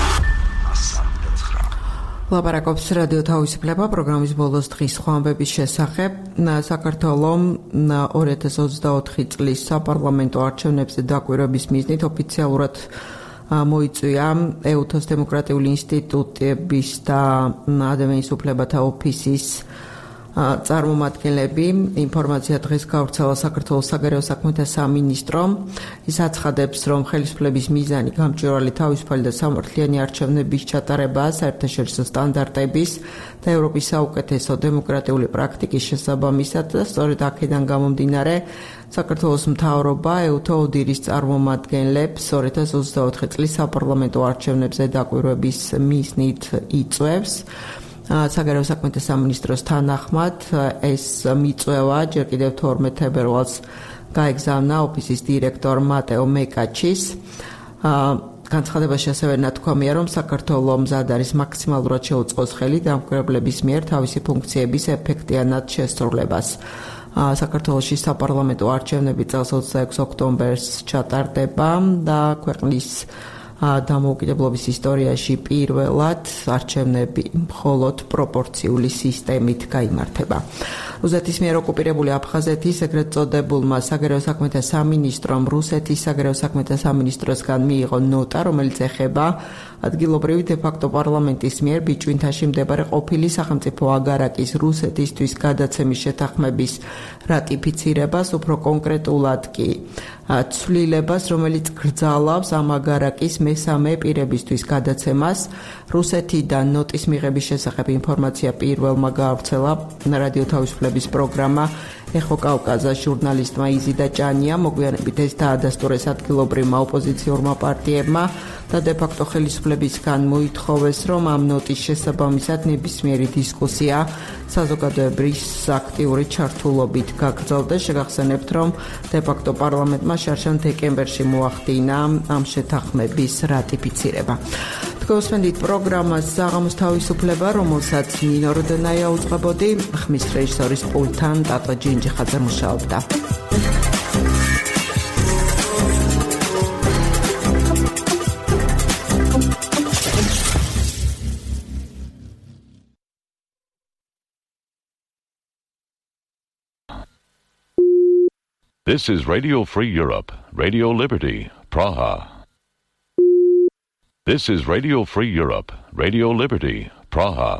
ლაპარაკობს რადიო თავისუფლება პროგრამის ბოლოს დღის ხვამბების შესახებ. საქართველოს 2024 წლის საპარლამენტო არჩევნებზე დაკვირვების მიზნით ოფიციალურად მოიწვია ეუთოს დემოკრატიული ინსტიტუტების და ადამიანის უფლებათა ოფისის წარმომადგენლები. ინფორმაცია დღეს გავრცელა საქართველოს საგარეო საქმეთა სამინისტრომ. ის აცხადებს, რომ ხელისუფლების მიზანი გამჭვირვალე თავისუფალი და სამართლიანი არჩევნების ჩატარებაა საერთაშორისო სტანდარტების და ევროპის საუკეთესო დემოკრატიული პრაქტიკის შესაბამისად და სწორედ აქედან გამომდინარე საქართველოს მთავრობა ეუთო ოდირის წარმომადგენლებს 2024 წლის საპარლამენტო არჩევნებზე დაკვირვების მიზნით იწვევს. საგარეო საქმეთა სამინისტროს თანახმად ეს მიწვევა ჯერ კიდევ 12 თებერვალს გაეგზავნა ოფისის დირექტორ მატეო მეკაჩის. განცხადებაში ასევე ნათქვამია, რომ საქართველოს მზად არის მაქსიმალურად შეუწყოს ხელი დამკვირვებლების მიერ თავისი ფუნქციების ეფექტიანად შესრულებას. საქართველოში საპარლამენტო არჩევნები წელს 26 ოქტომბერს ჩატარდება და ქვეყნის დამოუკიდებლობის ისტორიაში პირველად არჩევნები მხოლოდ პროპორციული სისტემით გაიმართება. რუსეთის მიერ ოკუპირებული აფხაზეთის ეგრეთ წოდებულმა საგარეო საქმეთა სამინისტრომ რუსეთის საგარეო საქმეთა სამინისტროსგან მიიღო ნოტა, რომელიც ეხება ადგილობრივი დე-ფაქტო პარლამენტის მიერ ბიჭვინთაში მდებარე ყოფილი სახელმწიფო აგარაკის რუსეთისთვის გადაცემის შეთანხმების რატიფიცირებას, უფრო კონკრეტულად კი ცვლილებას, რომელიც გრძალავს ამ აგარაკის მესამე პირებისთვის გადაცემას. რუსეთიდან ნოტის მიღების შესახებ ინფორმაცია პირველმა გაავრცელა რადიო თავისუფლების პროგრამა ეხო კავკაზას ჟურნალისტმა იზიდა ჭანია მოგვიანებით ეს დაადასტურეს ადგილობრივმა ოპოზიციურმა პარტიებმა და დე-ფაქტო ხელისუფლებისგან მოითხოვეს, რომ ამ ნოტის შესაბამისად ნებისმიერი დისკუსია საზოგადოების აქტიური ჩართულობით გაგრძელდეს. შეგახსენებთ, რომ დე-ფაქტო პარლამენტმა შარშან დეკემბერში მოახდინა ამ შეთანხმების რატიფიცირება. თქვენსმენდით პროგრამას საღამოს თავისუფლება, რომელსაც ნინო როდენაია უძღვებოდი, ხმის რეჟისორის პულტთან ტატო ჯინჯიხაძე მუშაობდა. This is Radio Free Europe, Radio Liberty, Praha. This is Radio Free Europe, Radio Liberty, Praha.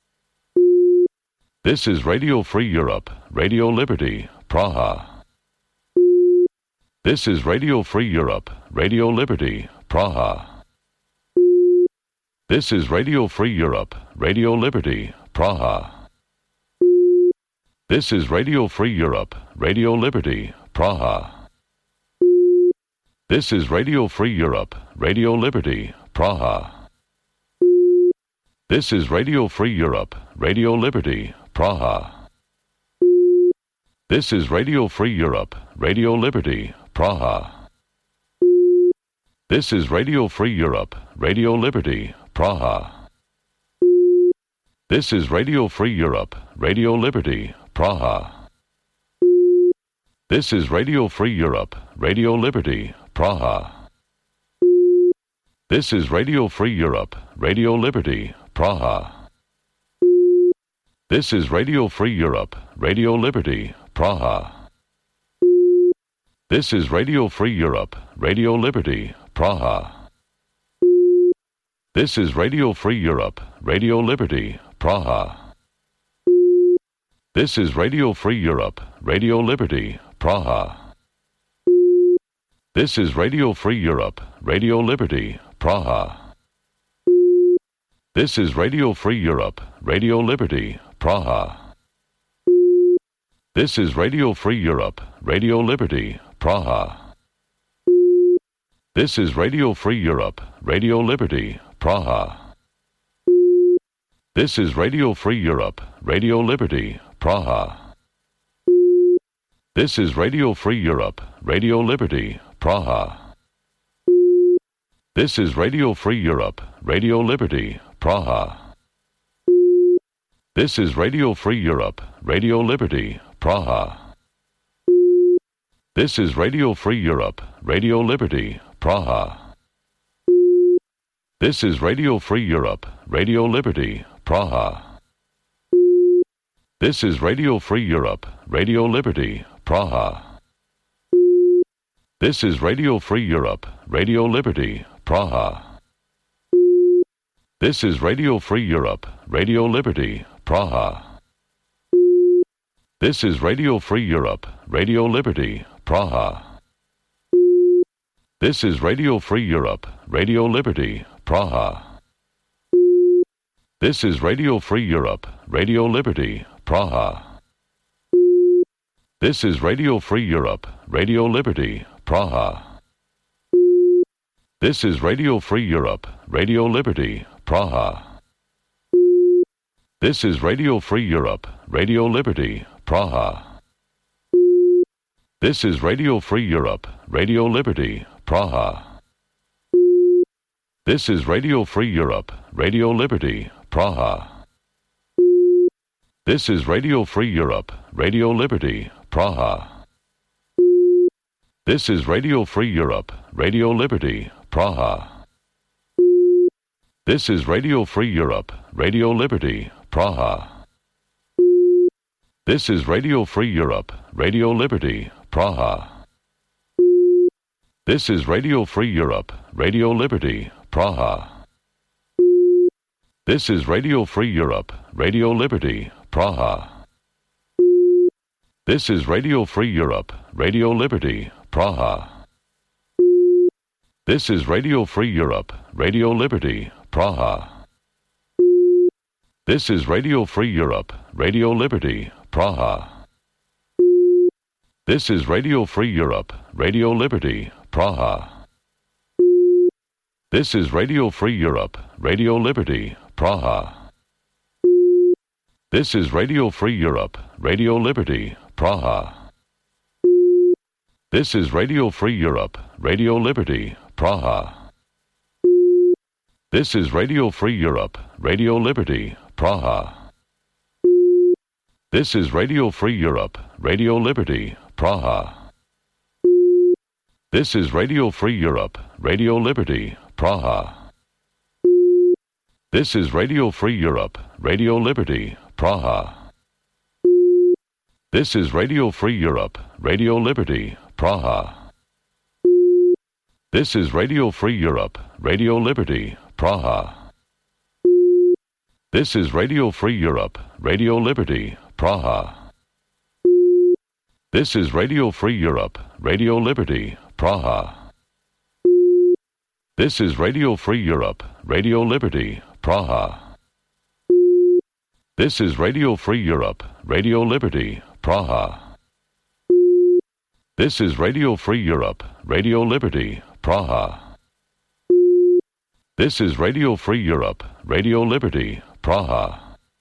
This is Radio Free Europe, Radio Liberty, Praha. This is Radio Free Europe, Radio Liberty, Praha. This is Radio Free Europe, Radio Liberty, Praha. This is Radio Free Europe, Radio Liberty, Praha. This is Radio Free Europe, Radio Liberty, Praha. This is Radio Free Europe, Radio Liberty, Praha. This is Radio Free Europe, Radio Liberty, Praha. This is Radio Free Europe, Radio Liberty, Praha. This is Radio Free Europe, Radio Liberty, Praha. This is Radio Free Europe, Radio Liberty, Praha. This is Radio Free Europe, Radio Liberty, Praha. This is Radio Free Europe, Radio Liberty, Praha. This is Radio Free Europe, Radio Liberty, Praha. This is Radio Free Europe, Radio Liberty, Praha. This is Radio Free Europe, Radio Liberty, Praha. This is Radio Free Europe, Radio Liberty, Praha. This is Radio Free Europe, Radio Liberty, Praha. This is Radio Free Europe, Radio Liberty, Praha. This is Radio Free Europe, Radio Liberty, Praha. This is Radio Free Europe, Radio Liberty, Praha. This is Radio Free Europe, Radio Liberty, Praha. This is Radio Free Europe, Radio Liberty, Praha. This is Radio Free Europe, Radio Liberty, Praha. This is Radio Free Europe, Radio Liberty, Praha. This is Radio Free Europe, Radio Liberty, Praha. This is Radio Free Europe, Radio Liberty, Praha. This is Radio Free Europe, Radio Liberty, Praha. This is Radio Free Europe, Radio Liberty, Praha. This is Radio Free Europe, Radio Liberty, Praha. This is Radio Free Europe, Radio Liberty, Praha. This is Radio Free Europe, Radio Liberty, Praha. This is Radio Free Europe, Radio Liberty, Praha. This is Radio Free Europe, Radio Liberty, Praha. This is Radio Free Europe, Radio Liberty, Praha. This is Radio Free Europe, Radio Liberty, Praha. This is Radio Free Europe, Radio Liberty, Praha. This is Radio Free Europe, Radio Liberty, Praha. This is Radio Free Europe, Radio Liberty, Praha. This is Radio Free Europe, Radio Liberty, Praha. This is Radio Free Europe, Radio Liberty, Praha. This is Radio Free Europe, Radio Liberty, Praha. This is Radio Free Europe, Radio Liberty, Praha. This is Radio Free Europe, Radio Liberty, Praha. This is Radio Free Europe, Radio Liberty, Praha. This is Radio Free Europe, Radio Liberty, Praha. This is Radio Free Europe, Radio Liberty, Praha. This is Radio Free Europe, Radio Liberty, Praha. This is Radio Free Europe, Radio Liberty, Praha. This is Radio Free Europe, Radio Liberty, Praha. This is Radio Free Europe, Radio Liberty, Praha. This is Radio Free Europe, Radio Liberty, Praha. This is Radio Free Europe, Radio Liberty, Praha. This is Radio Free Europe, Radio Liberty, Praha. This is Radio Free Europe, Radio Liberty, Praha. This is Radio Free Europe, Radio Liberty, Praha. This is Radio Free Europe, Radio Liberty, Praha. This is Radio Free Europe, Radio Liberty, Praha. This is Radio Free Europe, Radio Liberty, Praha. This is Radio Free Europe, Radio Liberty, Praha. This is Radio Free Europe, Radio Liberty, Praha. This is Radio Free Europe, Radio Liberty, Praha.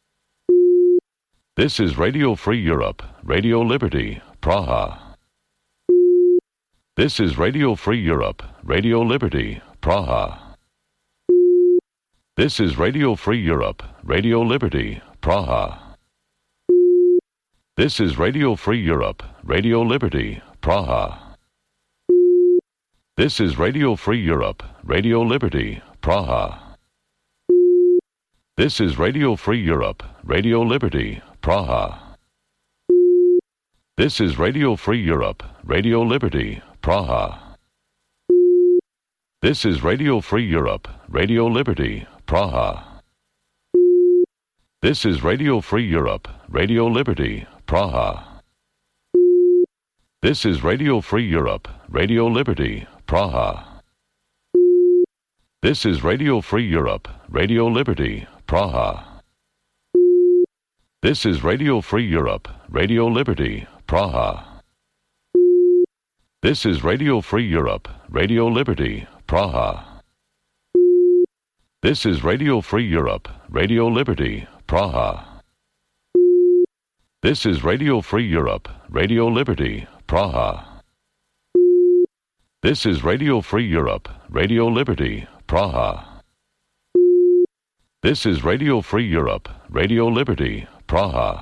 This is Radio Free Europe, Radio Liberty, Praha. This is Radio Free Europe, Radio Liberty, Praha. This is Radio Free Europe, Radio Liberty, Praha. This is Radio Free Europe, Radio Liberty, Praha. This is Radio Free Europe, Radio Liberty, Praha. This is Radio Free Europe, Radio Liberty, Praha. This is Radio Free Europe, Radio Liberty, Praha. This is Radio Free Europe, Radio Liberty, Praha. This is Radio Free Europe, Radio Liberty, Praha. This is Radio Free Europe, Radio Liberty, Praha. This is Radio Free Europe, Radio Liberty, Praha. This is Radio Free Europe, Radio Liberty, Praha. This is Radio Free Europe, Radio Liberty, Praha. This is Radio Free Europe, Radio Liberty, Praha. This is Radio Free Europe, Radio Liberty, Praha. This is Radio Free Europe, Radio Liberty, Praha. This is Radio Free Europe, Radio Liberty, Praha.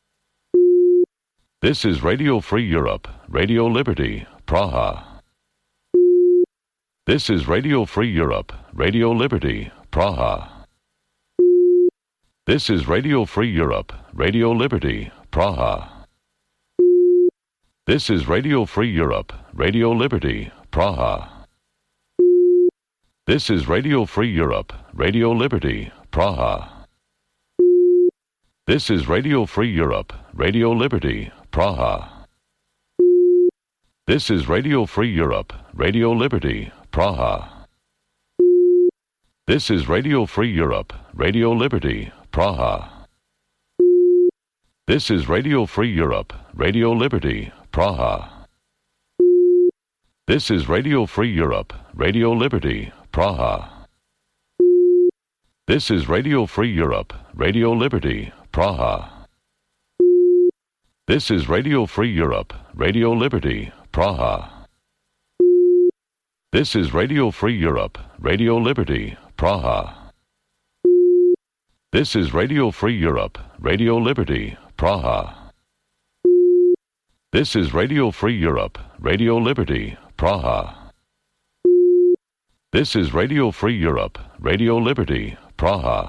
This is Radio Free Europe, Radio Liberty, Praha. This is Radio Free Europe, Radio Liberty, Praha. This is Radio Free Europe, Radio Liberty, Praha. This is Radio Free Europe, Radio Liberty, Praha. This is Radio Free Europe, Radio Liberty, Praha. This is Radio Free Europe, Radio Liberty, Praha. This is Radio Free Europe, Radio Liberty, Praha. This is Radio Free Europe, Radio Liberty, Praha. This is Radio Free Europe, Radio Liberty, Praha. This is Radio Free Europe, Radio Liberty, Praha. This is Radio Free Europe, Radio Liberty, Praha. This is Radio Free Europe, Radio Liberty, Praha. This is Radio Free Europe, Radio Liberty, Praha. This is Radio Free Europe, Radio Liberty, Praha. This is Radio Free Europe, Radio Liberty, Praha. This is Radio Free Europe, Radio Liberty, Praha.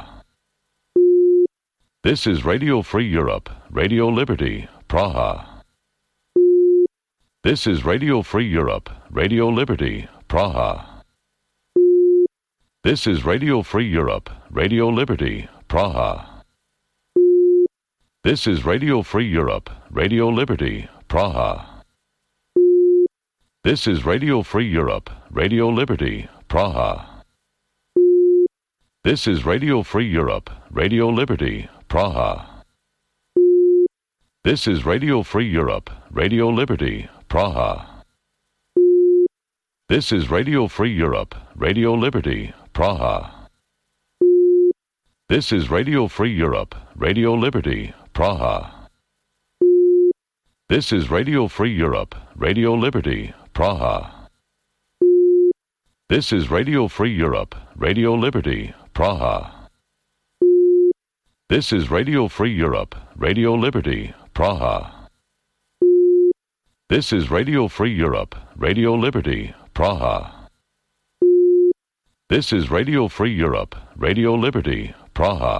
This is Radio Free Europe, Radio Liberty, Praha. This is Radio Free Europe, Radio Liberty, Praha. This is Radio Free Europe, Radio Liberty, Praha. This is Radio Free Europe, Radio Liberty, Praha. This is Radio Free Europe, Radio Liberty, Praha. This is Radio Free Europe, Radio Liberty, Praha. This is Radio Free Europe, Radio Liberty, Praha. This is Radio Free Europe, Radio Liberty, Praha. This is Radio Free Europe, Radio Liberty, Praha. This is Radio Free Europe, Radio Liberty, Praha. This is Radio Free Europe, Radio Liberty, Praha. This is Radio Free Europe, Radio Liberty, Praha. This is Radio Free Europe, Radio Liberty, Praha. This is Radio Free Europe, Radio Liberty, Praha.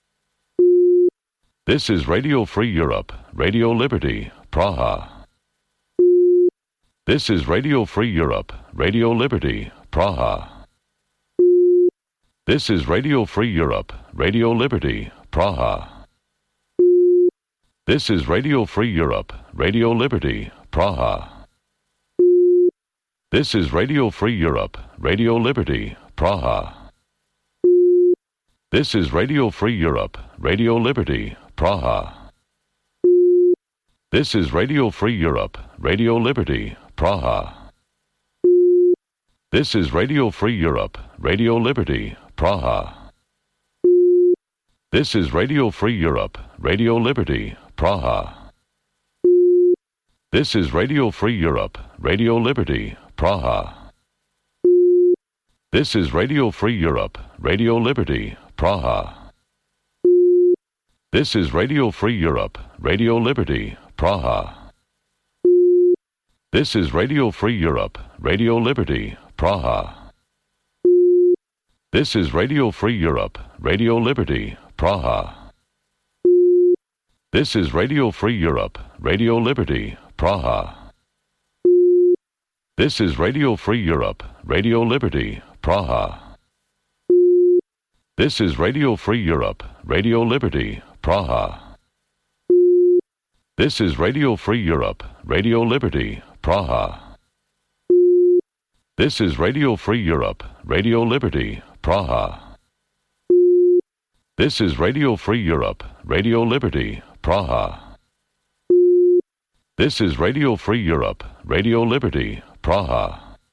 This is Radio Free Europe, Radio Liberty, Praha. This is Radio Free Europe, Radio Liberty, Praha. This is Radio Free Europe, Radio Liberty, Praha. This is Radio Free Europe, Radio Liberty, Praha. This is Radio Free Europe, Radio Liberty, Praha. This is Radio Free Europe, Radio Liberty, Praha. This is Radio Free Europe, Radio Liberty, Praha. This is Radio Free Europe, Radio Liberty, Praha. This is Radio Free Europe, Radio Liberty, Praha. This is Radio Free Europe, Radio Liberty, Praha. This is Radio Free Europe, Radio Liberty, Praha. This is Radio Free Europe, Radio Liberty, Praha. This is Radio Free Europe, Radio Liberty, Praha. This is Radio Free Europe, Radio Liberty, Praha. This is Radio Free Europe, Radio Liberty, Praha. This is Radio Free Europe, Radio Liberty, Praha. This is Radio Free Europe, Radio Liberty, Praha. This is Radio Free Europe, Radio Liberty, Praha. This is Radio Free Europe, Radio Liberty, Praha. This is Radio Free Europe, Radio Liberty, Praha. This is Radio Free Europe, Radio Liberty, Praha.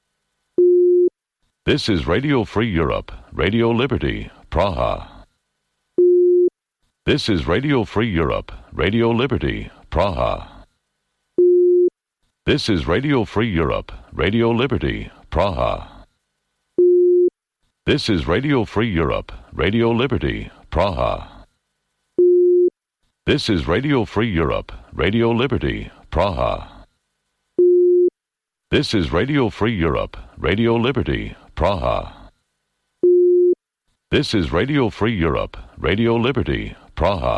This is Radio Free Europe, Radio Liberty, Praha. This is Radio Free Europe, Radio Liberty, Praha. This is Radio Free Europe, Radio Liberty, Praha. This is Radio Free Europe, Radio Liberty, Praha. This is Radio Free Europe, Radio Liberty, Praha. This is Radio Free Europe, Radio Liberty, Praha. This is Radio Free Europe, Radio Liberty, Praha.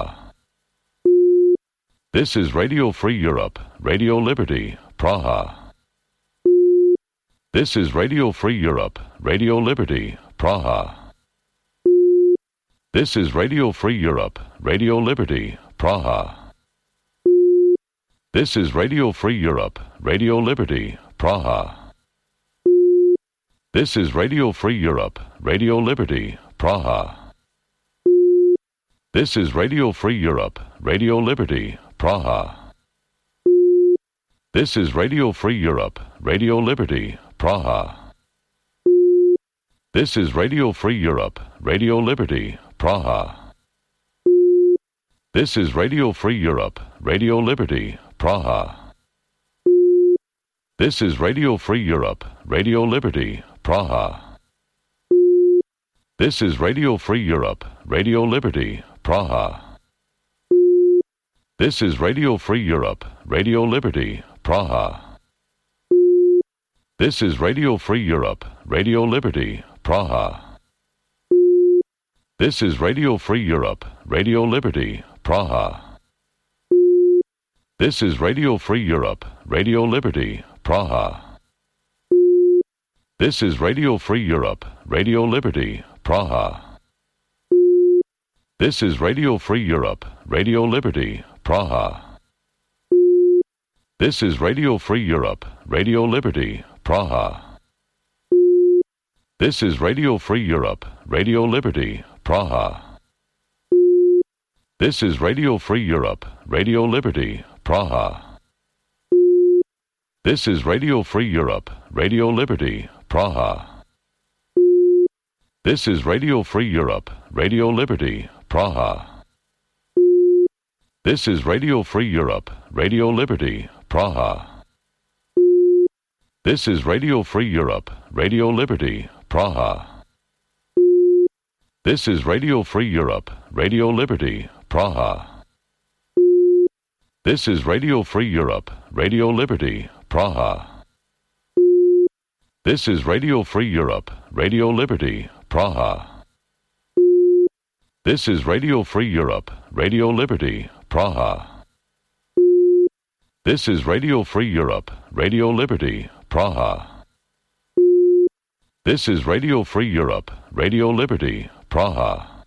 This is Radio Free Europe, Radio Liberty, Praha. This is Radio Free Europe, Radio Liberty, Praha. This is Radio Free Europe, Radio Liberty, Praha. This is Radio Free Europe, Radio Liberty, Praha. This is Radio Free Europe, Radio Liberty, Praha. This is Radio Free Europe, Radio Liberty, Praha. This is Radio Free Europe, Radio Liberty, Praha. This is Radio Free Europe, Radio Liberty, Praha. This is Radio Free Europe, Radio Liberty, Praha. This is Radio Free Europe, Radio Liberty, Praha. This is Radio Free Europe, Radio Liberty, Praha. This is Radio Free Europe, Radio Liberty, Praha. This is Radio Free Europe, Radio Liberty, Praha. This is Radio Free Europe, Radio Liberty, Praha. This is Radio Free Europe, Radio Liberty, Praha. This is Radio Free Europe, Radio Liberty, Praha. This is Radio Free Europe, Radio Liberty, Praha. This is Radio Free Europe, Radio Liberty, Praha. This is Radio Free Europe, Radio Liberty, Praha. This is Radio Free Europe, Radio Liberty, Praha. This is Radio Free Europe, Radio Liberty, Praha. This is Radio Free Europe, Radio Liberty, Praha. This is Radio Free Europe, Radio Liberty, Praha. This is Radio Free Europe, Radio Liberty, Praha. This is Radio Free Europe, Radio Liberty, Praha. This is Radio Free Europe, Radio Liberty, Praha. This is Radio Free Europe, Radio Liberty, Praha. This is Radio Free Europe, Radio Liberty, Praha. This is Radio Free Europe, Radio Liberty, Praha. This is Radio Free Europe, Radio Liberty, Praha.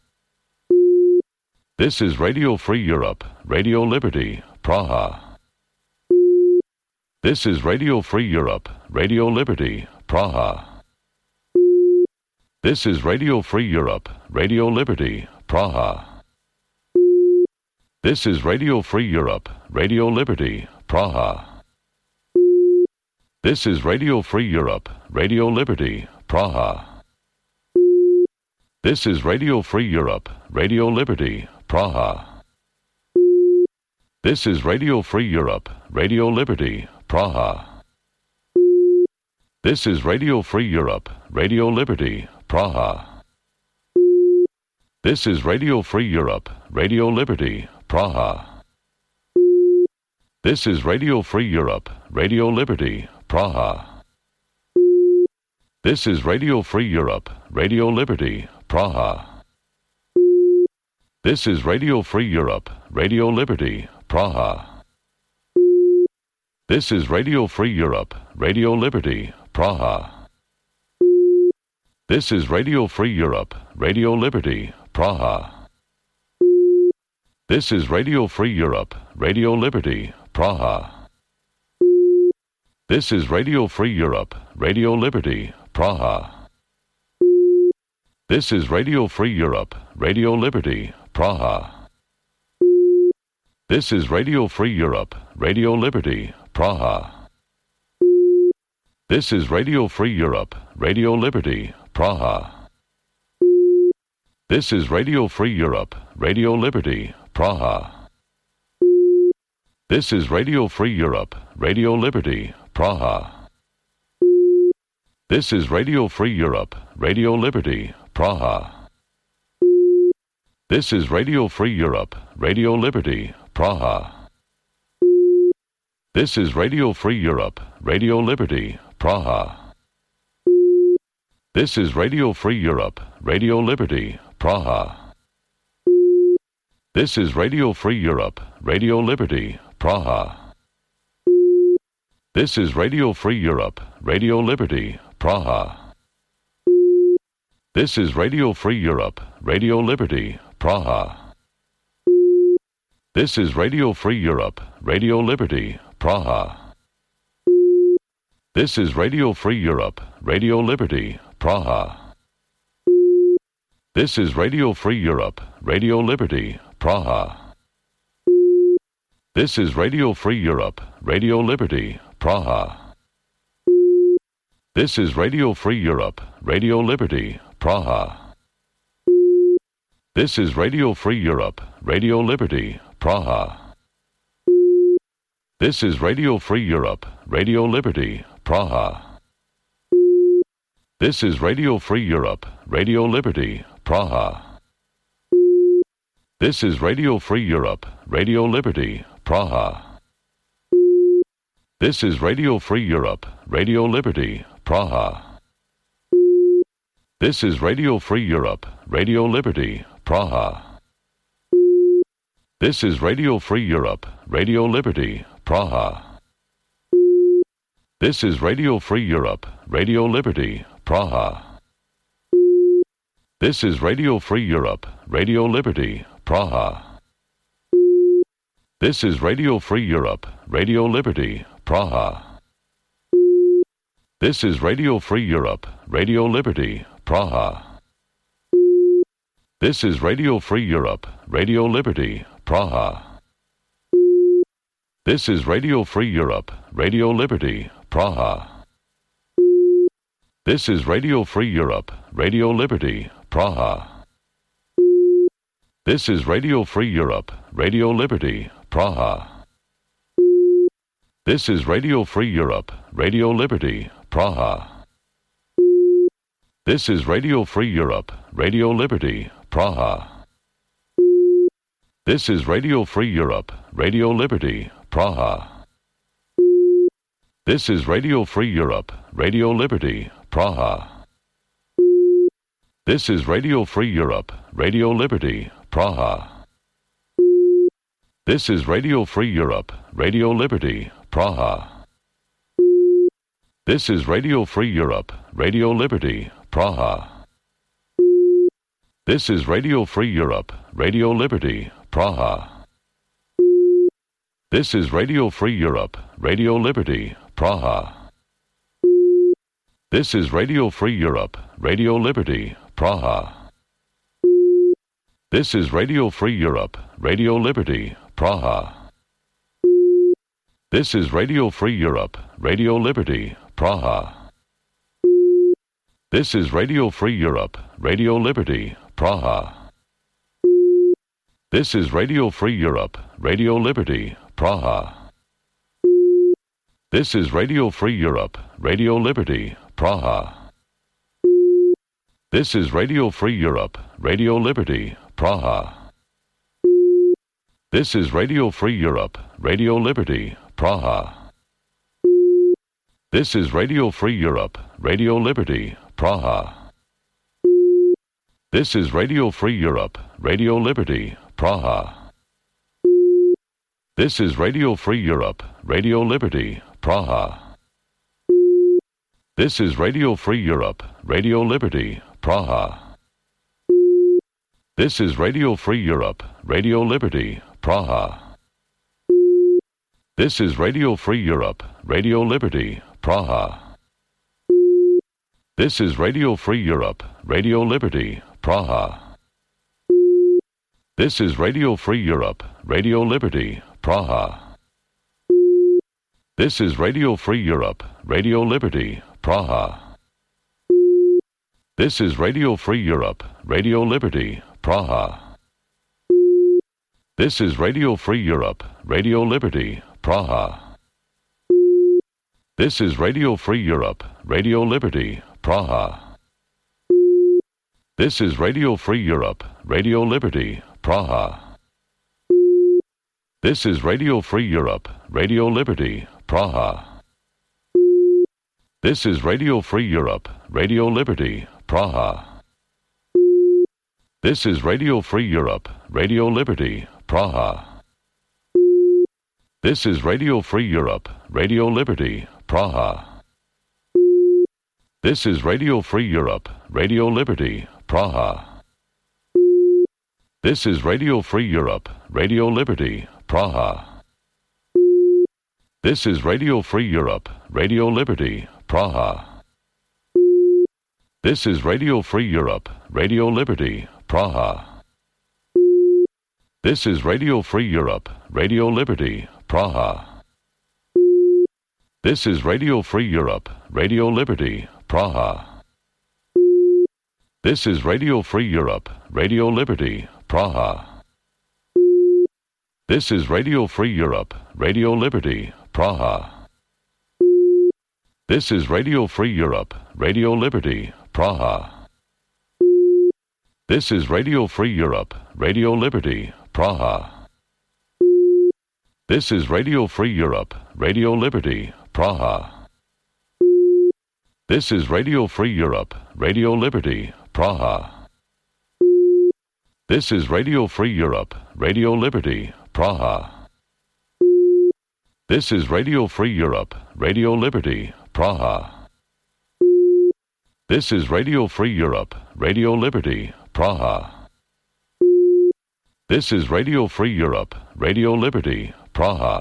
This is Radio Free Europe, Radio Liberty, Praha. This is Radio Free Europe, Radio Liberty, Praha. This is Radio Free Europe, Radio Liberty, Praha. This is Radio Free Europe, Radio Liberty, Praha. This is Radio Free Europe, Radio Liberty, Praha. This is Radio Free Europe, Radio Liberty, Praha. This is Radio Free Europe, Radio Liberty, Praha. This is Radio Free Europe, Radio Liberty, Praha. This is Radio Free Europe, Radio Liberty, Praha. This is Radio Free Europe, Radio Liberty, Praha. This is Radio Free Europe, Radio Liberty, Praha. This is Radio Free Europe, Radio Liberty, Praha. This is Radio Free Europe, Radio Liberty, Praha. This is Radio Free Europe, Radio Liberty, Praha. This is Radio Free Europe, Radio Liberty, Praha. This is Radio Free Europe, Radio Liberty, Praha. This is Radio Free Europe, Radio Liberty, Praha. This is Radio Free Europe, Radio Liberty, Praha. This is Radio Free Europe, Radio Liberty, Praha. This is Radio Free Europe, Radio Liberty, Praha. This is Radio Free Europe, Radio Liberty, Praha. This is Radio Free Europe, Radio Liberty, Praha. This is Radio Free Europe, Radio Liberty, Praha. This is Radio Free Europe, Radio Liberty, Praha. This is Radio Free Europe, Radio Liberty, Praha. This is Radio Free Europe, Radio Liberty, Praha. This is Radio Free Europe, Radio Liberty, Praha. This is Radio Free Europe, Radio Liberty, Praha. This is Radio Free Europe, Radio Liberty, Praha. This is Radio Free Europe, Radio Liberty, Praha. This is Radio Free Europe, Radio Liberty, Praha. This is Radio Free Europe, Radio Liberty, Praha. This is Radio Free Europe, Radio Liberty, Praha. This is Radio Free Europe, Radio Liberty, Praha. This is Radio Free Europe, Radio Liberty, Praha. This is Radio Free Europe, Radio Liberty, Praha. This is Radio Free Europe, Radio Liberty, Praha. This is Radio Free Europe, Radio Liberty, Praha. This is Radio Free Europe, Radio Liberty, Praha. This is Radio Free Europe, Radio Liberty, Praha. This is Radio Free Europe, Radio Liberty, Praha. This is Radio Free Europe, Radio Liberty, Praha. This is Radio Free Europe, Radio Liberty, Praha. This is Radio Free Europe, Radio Liberty, Praha. This is Radio Free Europe, Radio Liberty, Praha. This is Radio Free Europe, Radio Liberty, Praha. This is Radio Free Europe, Radio Liberty, Praha. This is Radio Free Europe, Radio Liberty, Praha. This is Radio Free Europe, Radio Liberty, Praha. This is Radio Free Europe, Radio Liberty, Praha. This is Radio Free Europe, Radio Liberty, Praha. This is Radio Free Europe, Radio Liberty, Praha. This is Radio Free Europe, Radio Liberty, Praha. This is Radio Free Europe, Radio Liberty, Praha. This is Radio Free Europe, Radio Liberty, Praha. This is Radio Free Europe, Radio Liberty, Praha. This is Radio Free Europe, Radio Liberty, Praha. This is Radio Free Europe, Radio Liberty, Praha. This is Radio Free Europe, Radio Liberty, Praha. This is Radio Free Europe, Radio Liberty, Praha. This is Radio Free Europe, Radio Liberty, Praha. This is Radio Free Europe, Radio Liberty, Praha. This is Radio Free Europe, Radio Liberty, Praha. This is Radio Free Europe, Radio Liberty, Praha. This is Radio Free Europe, Radio Liberty, Praha. This is Radio Free Europe, Radio Liberty, Praha. This is Radio Free Europe, Radio Liberty, Praha. This is Radio Free Europe, Radio Liberty, Praha. This is Radio Free Europe, Radio Liberty, Praha. This is Radio Free Europe, Radio Liberty, Praha. This is Radio Free Europe, Radio Liberty, Praha. This is Radio Free Europe, Radio Liberty, Praha. This is Radio Free Europe, Radio Liberty, Praha. This is Radio Free Europe, Radio Liberty, Praha. This is Radio Free Europe, Radio Liberty, Praha. This is Radio Free Europe, Radio Liberty, Praha. This is Radio Free Europe, Radio Liberty, Praha. This is Radio Free Europe, Radio Liberty, Praha. This is Radio Free Europe, Radio Liberty, Praha. This is Radio Free Europe, Radio Liberty, Praha. This is Radio Free Europe, Radio Liberty, Praha. This is Radio Free Europe, Radio Liberty, Praha. This is Radio Free Europe, Radio Liberty, Praha. This is Radio Free Europe, Radio Liberty, Praha. This is Radio Free Europe, Radio Liberty, Praha. This is Radio Free Europe, Radio Liberty, Praha. This is Radio Free Europe, Radio Liberty, Praha. This is Radio Free Europe, Radio Liberty, Praha. This is Radio Free Europe, Radio Liberty, Praha. This is Radio Free Europe, Radio Liberty, Praha. This is Radio Free Europe, Radio Liberty, Praha. This is Radio Free Europe, Radio Liberty, Praha. This is Radio Free Europe, Radio Liberty, Praha. This is Radio Free Europe, Radio Liberty, Praha. This is Radio Free Europe, Radio Liberty, Praha. This is Radio Free Europe, Radio Liberty, Praha. This is Radio Free Europe, Radio Liberty, Praha. This is Radio Free Europe, Radio Liberty, Praha.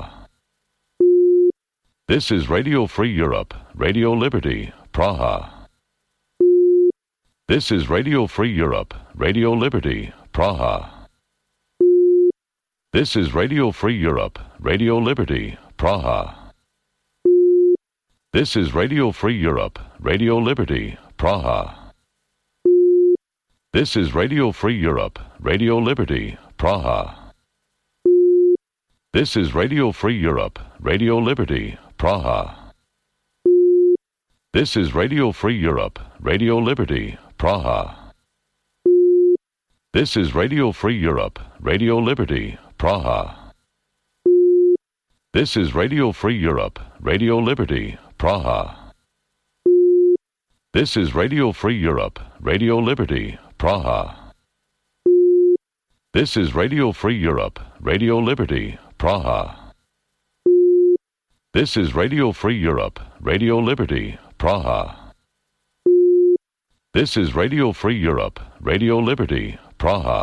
This is Radio Free Europe, Radio Liberty, Praha. This is Radio Free Europe, Radio Liberty, Praha. This is Radio Free Europe, Radio Liberty, Praha. This is Radio Free Europe, Radio Liberty, Praha. This is Radio Free Europe, Radio Liberty, Praha. This is Radio Free Europe, Radio Liberty, Praha. This is Radio Free Europe, Radio Liberty, Praha. This is Radio Free Europe, Radio Liberty, Praha. This is Radio Free Europe, Radio Liberty, Praha. This is Radio Free Europe, Radio Liberty, Praha. This is Radio Free Europe, Radio Liberty, Praha. This is Radio Free Europe, Radio Liberty, Praha. This is Radio Free Europe, Radio Liberty, Praha.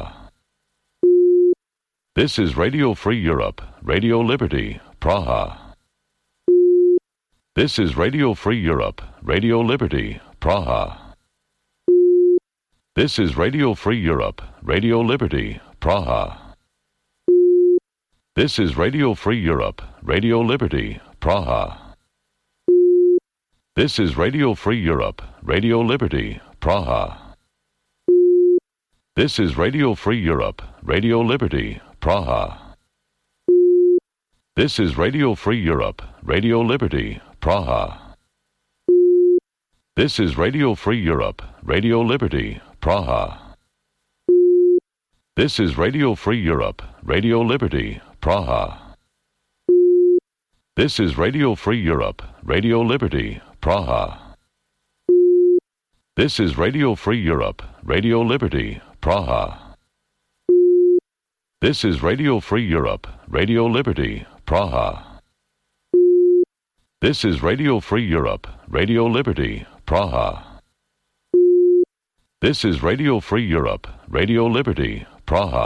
This is Radio Free Europe, Radio Liberty, Praha. This is Radio Free Europe, Radio Liberty, Praha. This is Radio Free Europe, Radio Liberty, Praha. This is Radio Free Europe, Radio Liberty, Praha. This is Radio Free Europe, Radio Liberty, Praha. This is Radio Free Europe, Radio Liberty, Praha. This is Radio Free Europe, Radio Liberty, Praha. This is Radio Free Europe, Radio Liberty, Praha. This is Radio Free Europe, Radio Liberty, Praha. This is Radio Free Europe, Radio Liberty, Praha. This is Radio Free Europe, Radio Liberty, Praha. This is Radio Free Europe, Radio Liberty, Praha. This is Radio Free Europe, Radio Liberty, Praha. This is Radio Free Europe, Radio Liberty, Praha.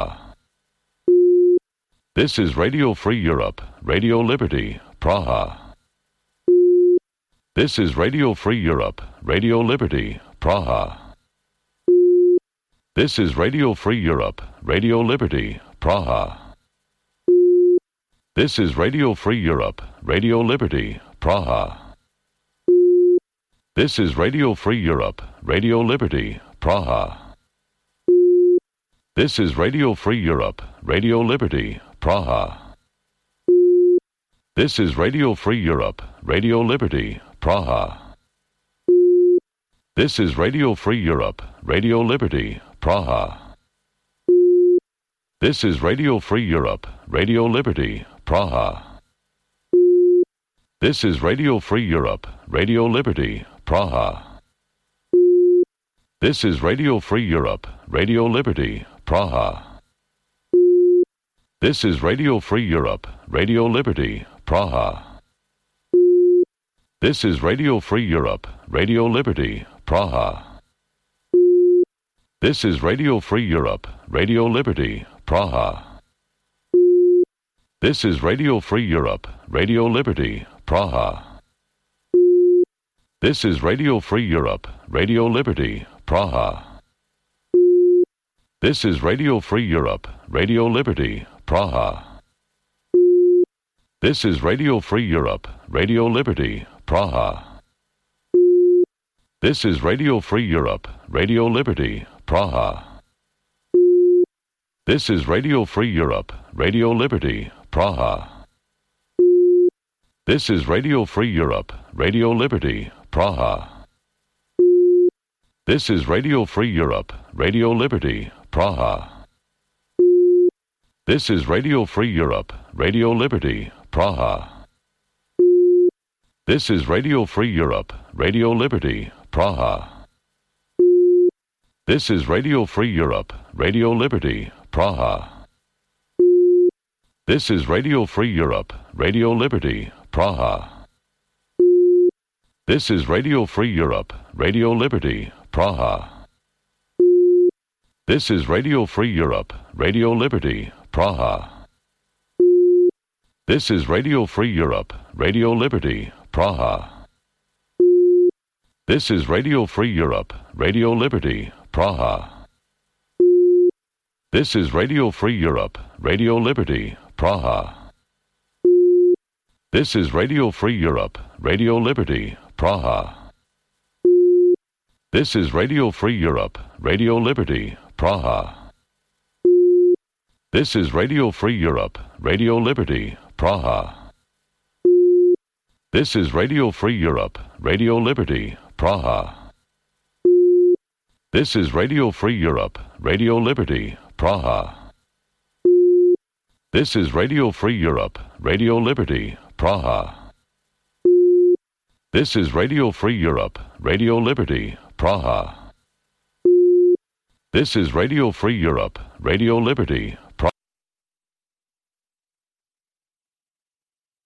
This is Radio Free Europe, Radio Liberty, Praha. This is Radio Free Europe, Radio Liberty, Praha. This is Radio Free Europe, Radio Liberty, Praha. This is Radio Free Europe, Radio Liberty, Praha. This is Radio Free Europe, Radio Liberty, Praha. This is Radio Free Europe, Radio Liberty, Praha. This is Radio Free Europe, Radio Liberty, Praha. This is Radio Free Europe, Radio Liberty, Praha. This is Radio Free Europe, Radio Liberty, Praha. This is Radio Free Europe, Radio Liberty, Praha. This is Radio Free Europe, Radio Liberty, Praha. This is Radio Free Europe, Radio Liberty, Praha. This is Radio Free Europe, Radio Liberty, Praha. This is Radio Free Europe, Radio Liberty, Praha. This is Radio Free Europe, Radio Liberty, Praha. This is Radio Free Europe, Radio Liberty, Praha. This is Radio Free Europe, Radio Liberty, Praha. This is Radio Free Europe, Radio Liberty, Praha. This is Radio Free Europe, Radio Liberty, Praha. This is Radio Free Europe, Radio Liberty, Praha. This is Radio Free Europe, Radio Liberty, Praha. This is Radio Free Europe, Radio Liberty, Praha. This is Radio Free Europe, Radio Liberty, Praha. This is Radio Free Europe, Radio Liberty, Praha. This is Radio Free Europe, Radio Liberty, Praha. This is Radio Free Europe, Radio Liberty, Praha. This is Radio Free Europe, Radio Liberty, Praha. This is Radio Free Europe, Radio Liberty, Praha. This is Radio Free Europe, Radio Liberty, Praha. This is Radio Free Europe, Radio Liberty, Praha. This is Radio Free Europe, Radio Liberty, Praha. This is Radio Free Europe, Radio Liberty, Praha. This is Radio Free Europe, Radio Liberty, Praha. This is Radio Free Europe, Radio Liberty, Praha. This is Radio Free Europe, Radio Liberty, Praha. This is Radio Free Europe, Radio Liberty, Praha. This is Radio Free Europe, Radio Liberty, Praha. This is Radio Free Europe, Radio Liberty, Praha. This is Radio Free Europe, Radio Liberty,